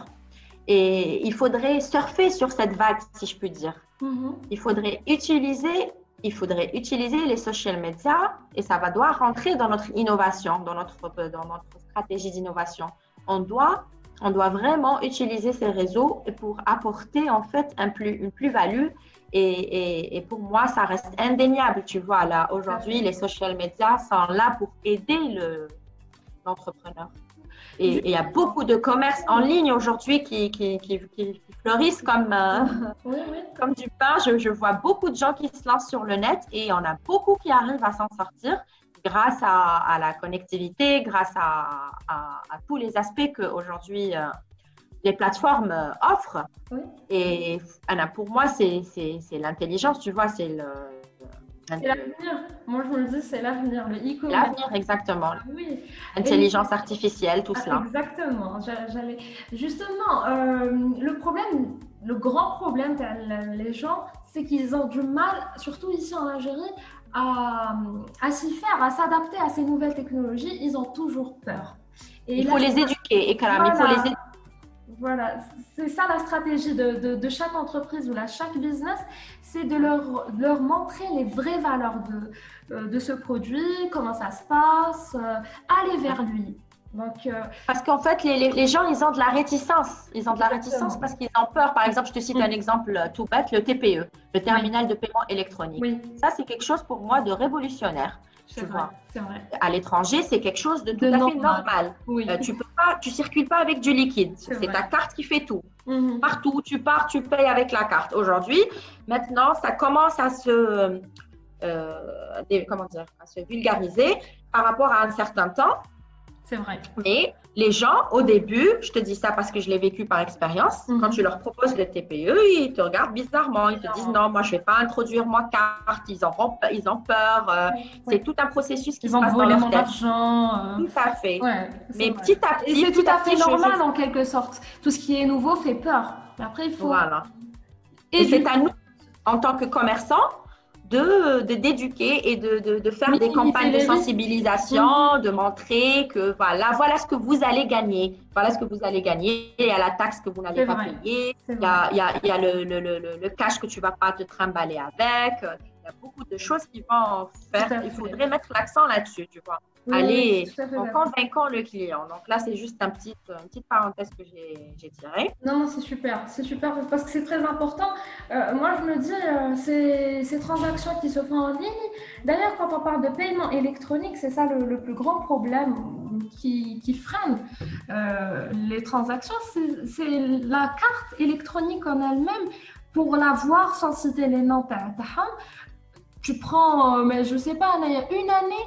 Et il faudrait surfer sur cette vague, si je puis dire. Mm-hmm. Il faudrait utiliser, il faudrait utiliser les social media et ça va devoir rentrer dans notre innovation, dans notre, dans notre stratégie d'innovation. On doit, on doit vraiment utiliser ces réseaux pour apporter en fait un plus, une plus-value. Et, et, et pour moi, ça reste indéniable. Tu vois, là, aujourd'hui, les social media sont là pour aider l'entrepreneur. Et il y a beaucoup de commerces en ligne aujourd'hui qui, qui, qui, qui fleurissent comme, euh, oui, oui. comme du pain. Je, je vois beaucoup de gens qui se lancent sur le net et on a beaucoup qui arrivent à s'en sortir grâce à, à la connectivité, grâce à, à, à tous les aspects qu'aujourd'hui euh, les plateformes euh, offrent. Oui. Et Anna, pour moi, c'est l'intelligence, tu vois, c'est le… C'est l'avenir. Moi, je me le dis, c'est l'avenir, le e-commerce. L'avenir, exactement. Oui. Intelligence Et... artificielle, tout ah, cela. Exactement. J'allais... Justement, euh, le problème, le grand problème des gens, c'est qu'ils ont du mal, surtout ici en Algérie, à, à s'y faire, à s'adapter à ces nouvelles technologies. Ils ont toujours peur. Et il faut là, les éduquer, Ekram, voilà. Il faut les éduquer. Voilà, c'est ça la stratégie de, de, de chaque entreprise ou là, chaque business, c'est de leur, de leur montrer les vraies valeurs de, de ce produit, comment ça se passe, euh, aller vers lui. Donc, euh, parce qu'en fait, les, les, les gens, ils ont de la réticence. Ils ont de la réticence parce qu'ils ont peur. Par exemple, je te cite mmh. un exemple tout bête, le T P E, le terminal oui. de paiement électronique. Oui. Ça, c'est quelque chose pour moi de révolutionnaire. Tu vrai, vois. Vrai. À l'étranger, c'est quelque chose de tout de à normal. fait normal. Oui. Euh, tu peux pas, tu circules pas avec du liquide. C'est ta carte qui fait tout. Mmh. Partout où tu pars, tu payes avec la carte. Aujourd'hui, maintenant, ça commence à se, euh, des, comment dire, à se vulgariser par rapport à un certain temps. C'est vrai. Mais les gens, au début, je te dis ça parce que je l'ai vécu par expérience, mmh. quand tu leur proposes le T P E, ils te regardent bizarrement. Ils te disent non, moi, je ne vais pas introduire ma carte. Ils ont, ils ont peur. Euh, oui. C'est tout un processus qui ils se passe dans leur tête. Ils vont voler mon argent. Euh... Tout à fait. Ouais, mais vrai. petit à petit. Et c'est tout à fait petit, normal je... en quelque sorte. Tout ce qui est nouveau fait peur. Après, il faut. Voilà. Et, Et c'est du... à nous, en tant que commerçants, de d'éduquer et de, de, de faire oui, des campagnes de sensibilisation, mmh. de montrer que voilà, voilà ce que vous allez gagner, voilà ce que vous allez gagner, il y a la taxe que vous n'allez pas vrai. payer, il y a, il y a, il y a le, le, le, le cash que tu ne vas pas te trimballer avec, il y a beaucoup de choses qui vont faire, il faudrait mettre l'accent là-dessus, tu vois. Oui, aller en convainquant le client. Donc là, c'est juste un petit, une petite parenthèse que j'ai tirée. Non, non, c'est super. C'est super parce que c'est très important. Euh, moi, je me dis, euh, ces, ces transactions qui se font en ligne, d'ailleurs, quand on parle de paiement électronique, c'est ça le, le plus grand problème qui, qui freine euh, les transactions. C'est la carte électronique en elle-même. Pour la voir sans citer les noms, tu prends, mais je sais pas, il y a une année,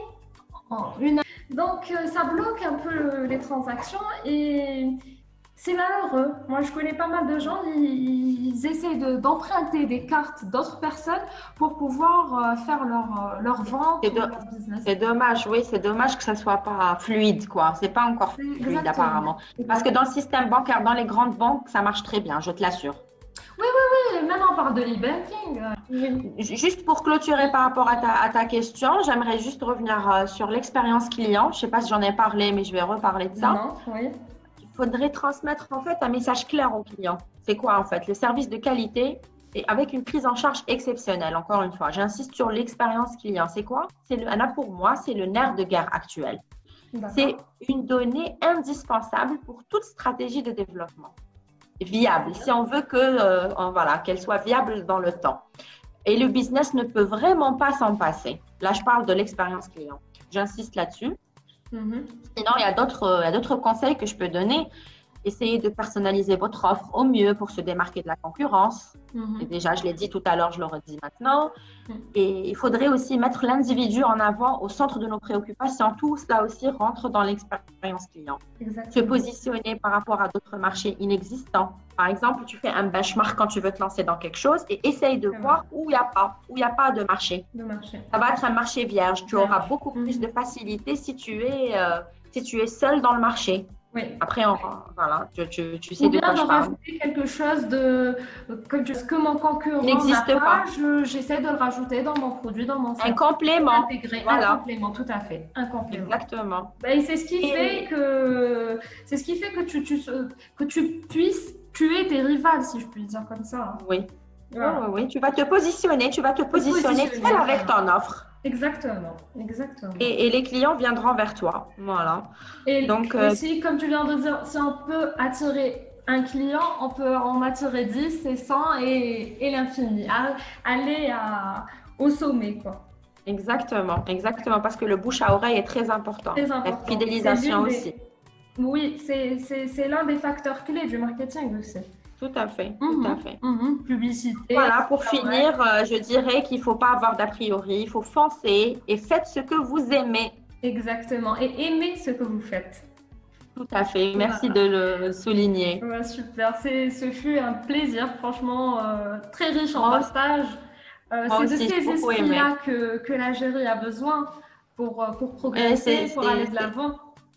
Une... Donc, euh, ça bloque un peu les transactions et c'est malheureux. Moi, je connais pas mal de gens, ils, ils essaient d'emprunter de, des cartes d'autres personnes pour pouvoir euh, faire leur, leur vente ou leur business. C'est dommage, oui, c'est dommage que ça soit pas fluide, quoi. C'est pas encore fluide, exactement. Apparemment. Parce que dans le système bancaire, dans les grandes banques, ça marche très bien, je te l'assure. Oui, oui, oui, maintenant on parle de l'e-banking. Juste pour clôturer par rapport à ta, à ta question, j'aimerais juste revenir sur l'expérience client. Je ne sais pas si j'en ai parlé, mais je vais reparler de ça. Non, oui. Il faudrait transmettre en fait un message clair au client. C'est quoi en fait? Le service de qualité et avec une prise en charge exceptionnelle. Encore une fois, j'insiste sur l'expérience client. C'est quoi? C'est le, là pour moi, c'est le nerf de guerre actuel. C'est une donnée indispensable pour toute stratégie de développement. Viable, si on veut que euh, voilà, qu'elle soit viable dans le temps. Et le business ne peut vraiment pas s'en passer. Là, je parle de l'expérience client. J'insiste là-dessus. Mm-hmm. Sinon, il y a d'autres, il y a d'autres conseils que je peux donner. Essayez de personnaliser votre offre au mieux pour se démarquer de la concurrence. Mm-hmm. Et déjà, je l'ai dit tout à l'heure, je le redis maintenant. Mm-hmm. Et il faudrait aussi mettre l'individu en avant au centre de nos préoccupations. Tout cela aussi rentre dans l'expérience client. Exactement. Se positionner par rapport à d'autres marchés inexistants. Par exemple, tu fais un benchmark quand tu veux te lancer dans quelque chose et essaye de C'est voir vrai. où il n'y a pas, où il n'y a pas de marché. De marché. Ça va être un marché vierge. Tu vierge. auras beaucoup mm-hmm. plus de facilité si tu es, euh, si tu es seul dans le marché. Oui. Après, on, voilà, tu, tu, tu sais Ou de quoi je parle. Ou bien de rajouter quelque chose de, que, je, que mon concurrent n'existe pas. pas j'essaie de le rajouter dans mon produit, dans mon service. Un complément. Intégrer. Voilà. Un complément, tout à fait. Un complément. Exactement. Ben, c'est ce qui Et... fait que c'est ce qui fait que tu, tu, que tu puisses tuer tes rivales, si je puis dire comme ça. Oui. Voilà. Oui, oui, tu vas te positionner, tu vas te positionner, positionner seul avec ton offre. Exactement, exactement. Et, et les clients viendront vers toi, voilà. Et donc aussi, euh, comme tu viens de dire, si on peut attirer un client, on peut en attirer dix et cent et, et l'infini. Aller à, au sommet, quoi. Exactement, exactement, parce que le bouche à oreille est très important. Très important. La fidélisation des... aussi. Oui, c'est l'un des facteurs clés du marketing aussi. Tout à fait, mmh, tout à fait. Mmh, publicité. Voilà, pour finir, euh, je dirais qu'il ne faut pas avoir d'a priori, il faut foncer et faites ce que vous aimez. Exactement, et aimez ce que vous faites. Tout à fait, merci voilà. de le souligner. Ouais, super, ce fut un plaisir, franchement, euh, très riche en partage. Euh, C'est de ces esprits-là que, que l'Algérie a besoin pour, pour progresser, pour aller de l'avant.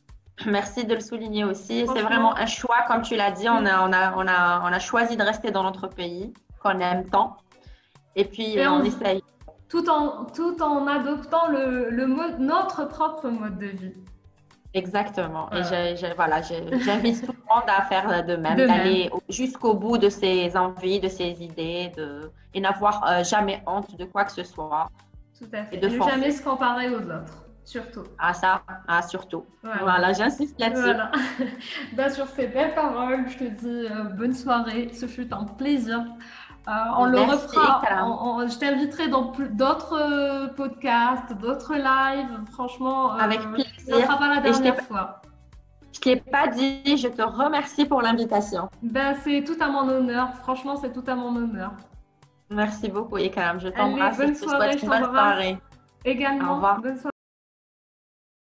Merci de le souligner aussi. C'est vraiment un choix, comme tu l'as dit, on a, on, a, on, a, on a choisi de rester dans notre pays qu'on aime tant. Et puis, Et on, on essaye. Tout en, tout en adoptant le, le mode, notre propre mode de vie. Exactement. Et Voilà. je, je- voilà, je- j'invite tout le monde à faire de même, De même, d'aller au- jusqu'au bout de ses envies, de ses idées, de, et n'avoir euh, jamais honte de quoi que ce soit tout à et fait. de Et ne jamais foncer. se comparer aux autres, surtout. Ah, ça, ah, surtout. Voilà. Voilà, j'insiste là-dessus. Voilà. Bah, sur ces belles paroles, je te dis euh, bonne soirée. Ce fut un plaisir. Euh, on le Merci, refera. Ikram. on- on- je t'inviterai dans plus- d'autres euh, podcasts, d'autres lives. Franchement, Avec euh, ça ne plaisir. sera pas la Et je t'ai, dernière fois. je t'ai pas dit, je te remercie pour l'invitation. Ben, c'est tout à mon honneur. Franchement, c'est tout à mon honneur. Merci beaucoup, Ikram. Je Allez, t'embrasse et bonne je te souhaite soirée, je une bonne t'embrasse soirée. Au également. revoir. Bonne soirée.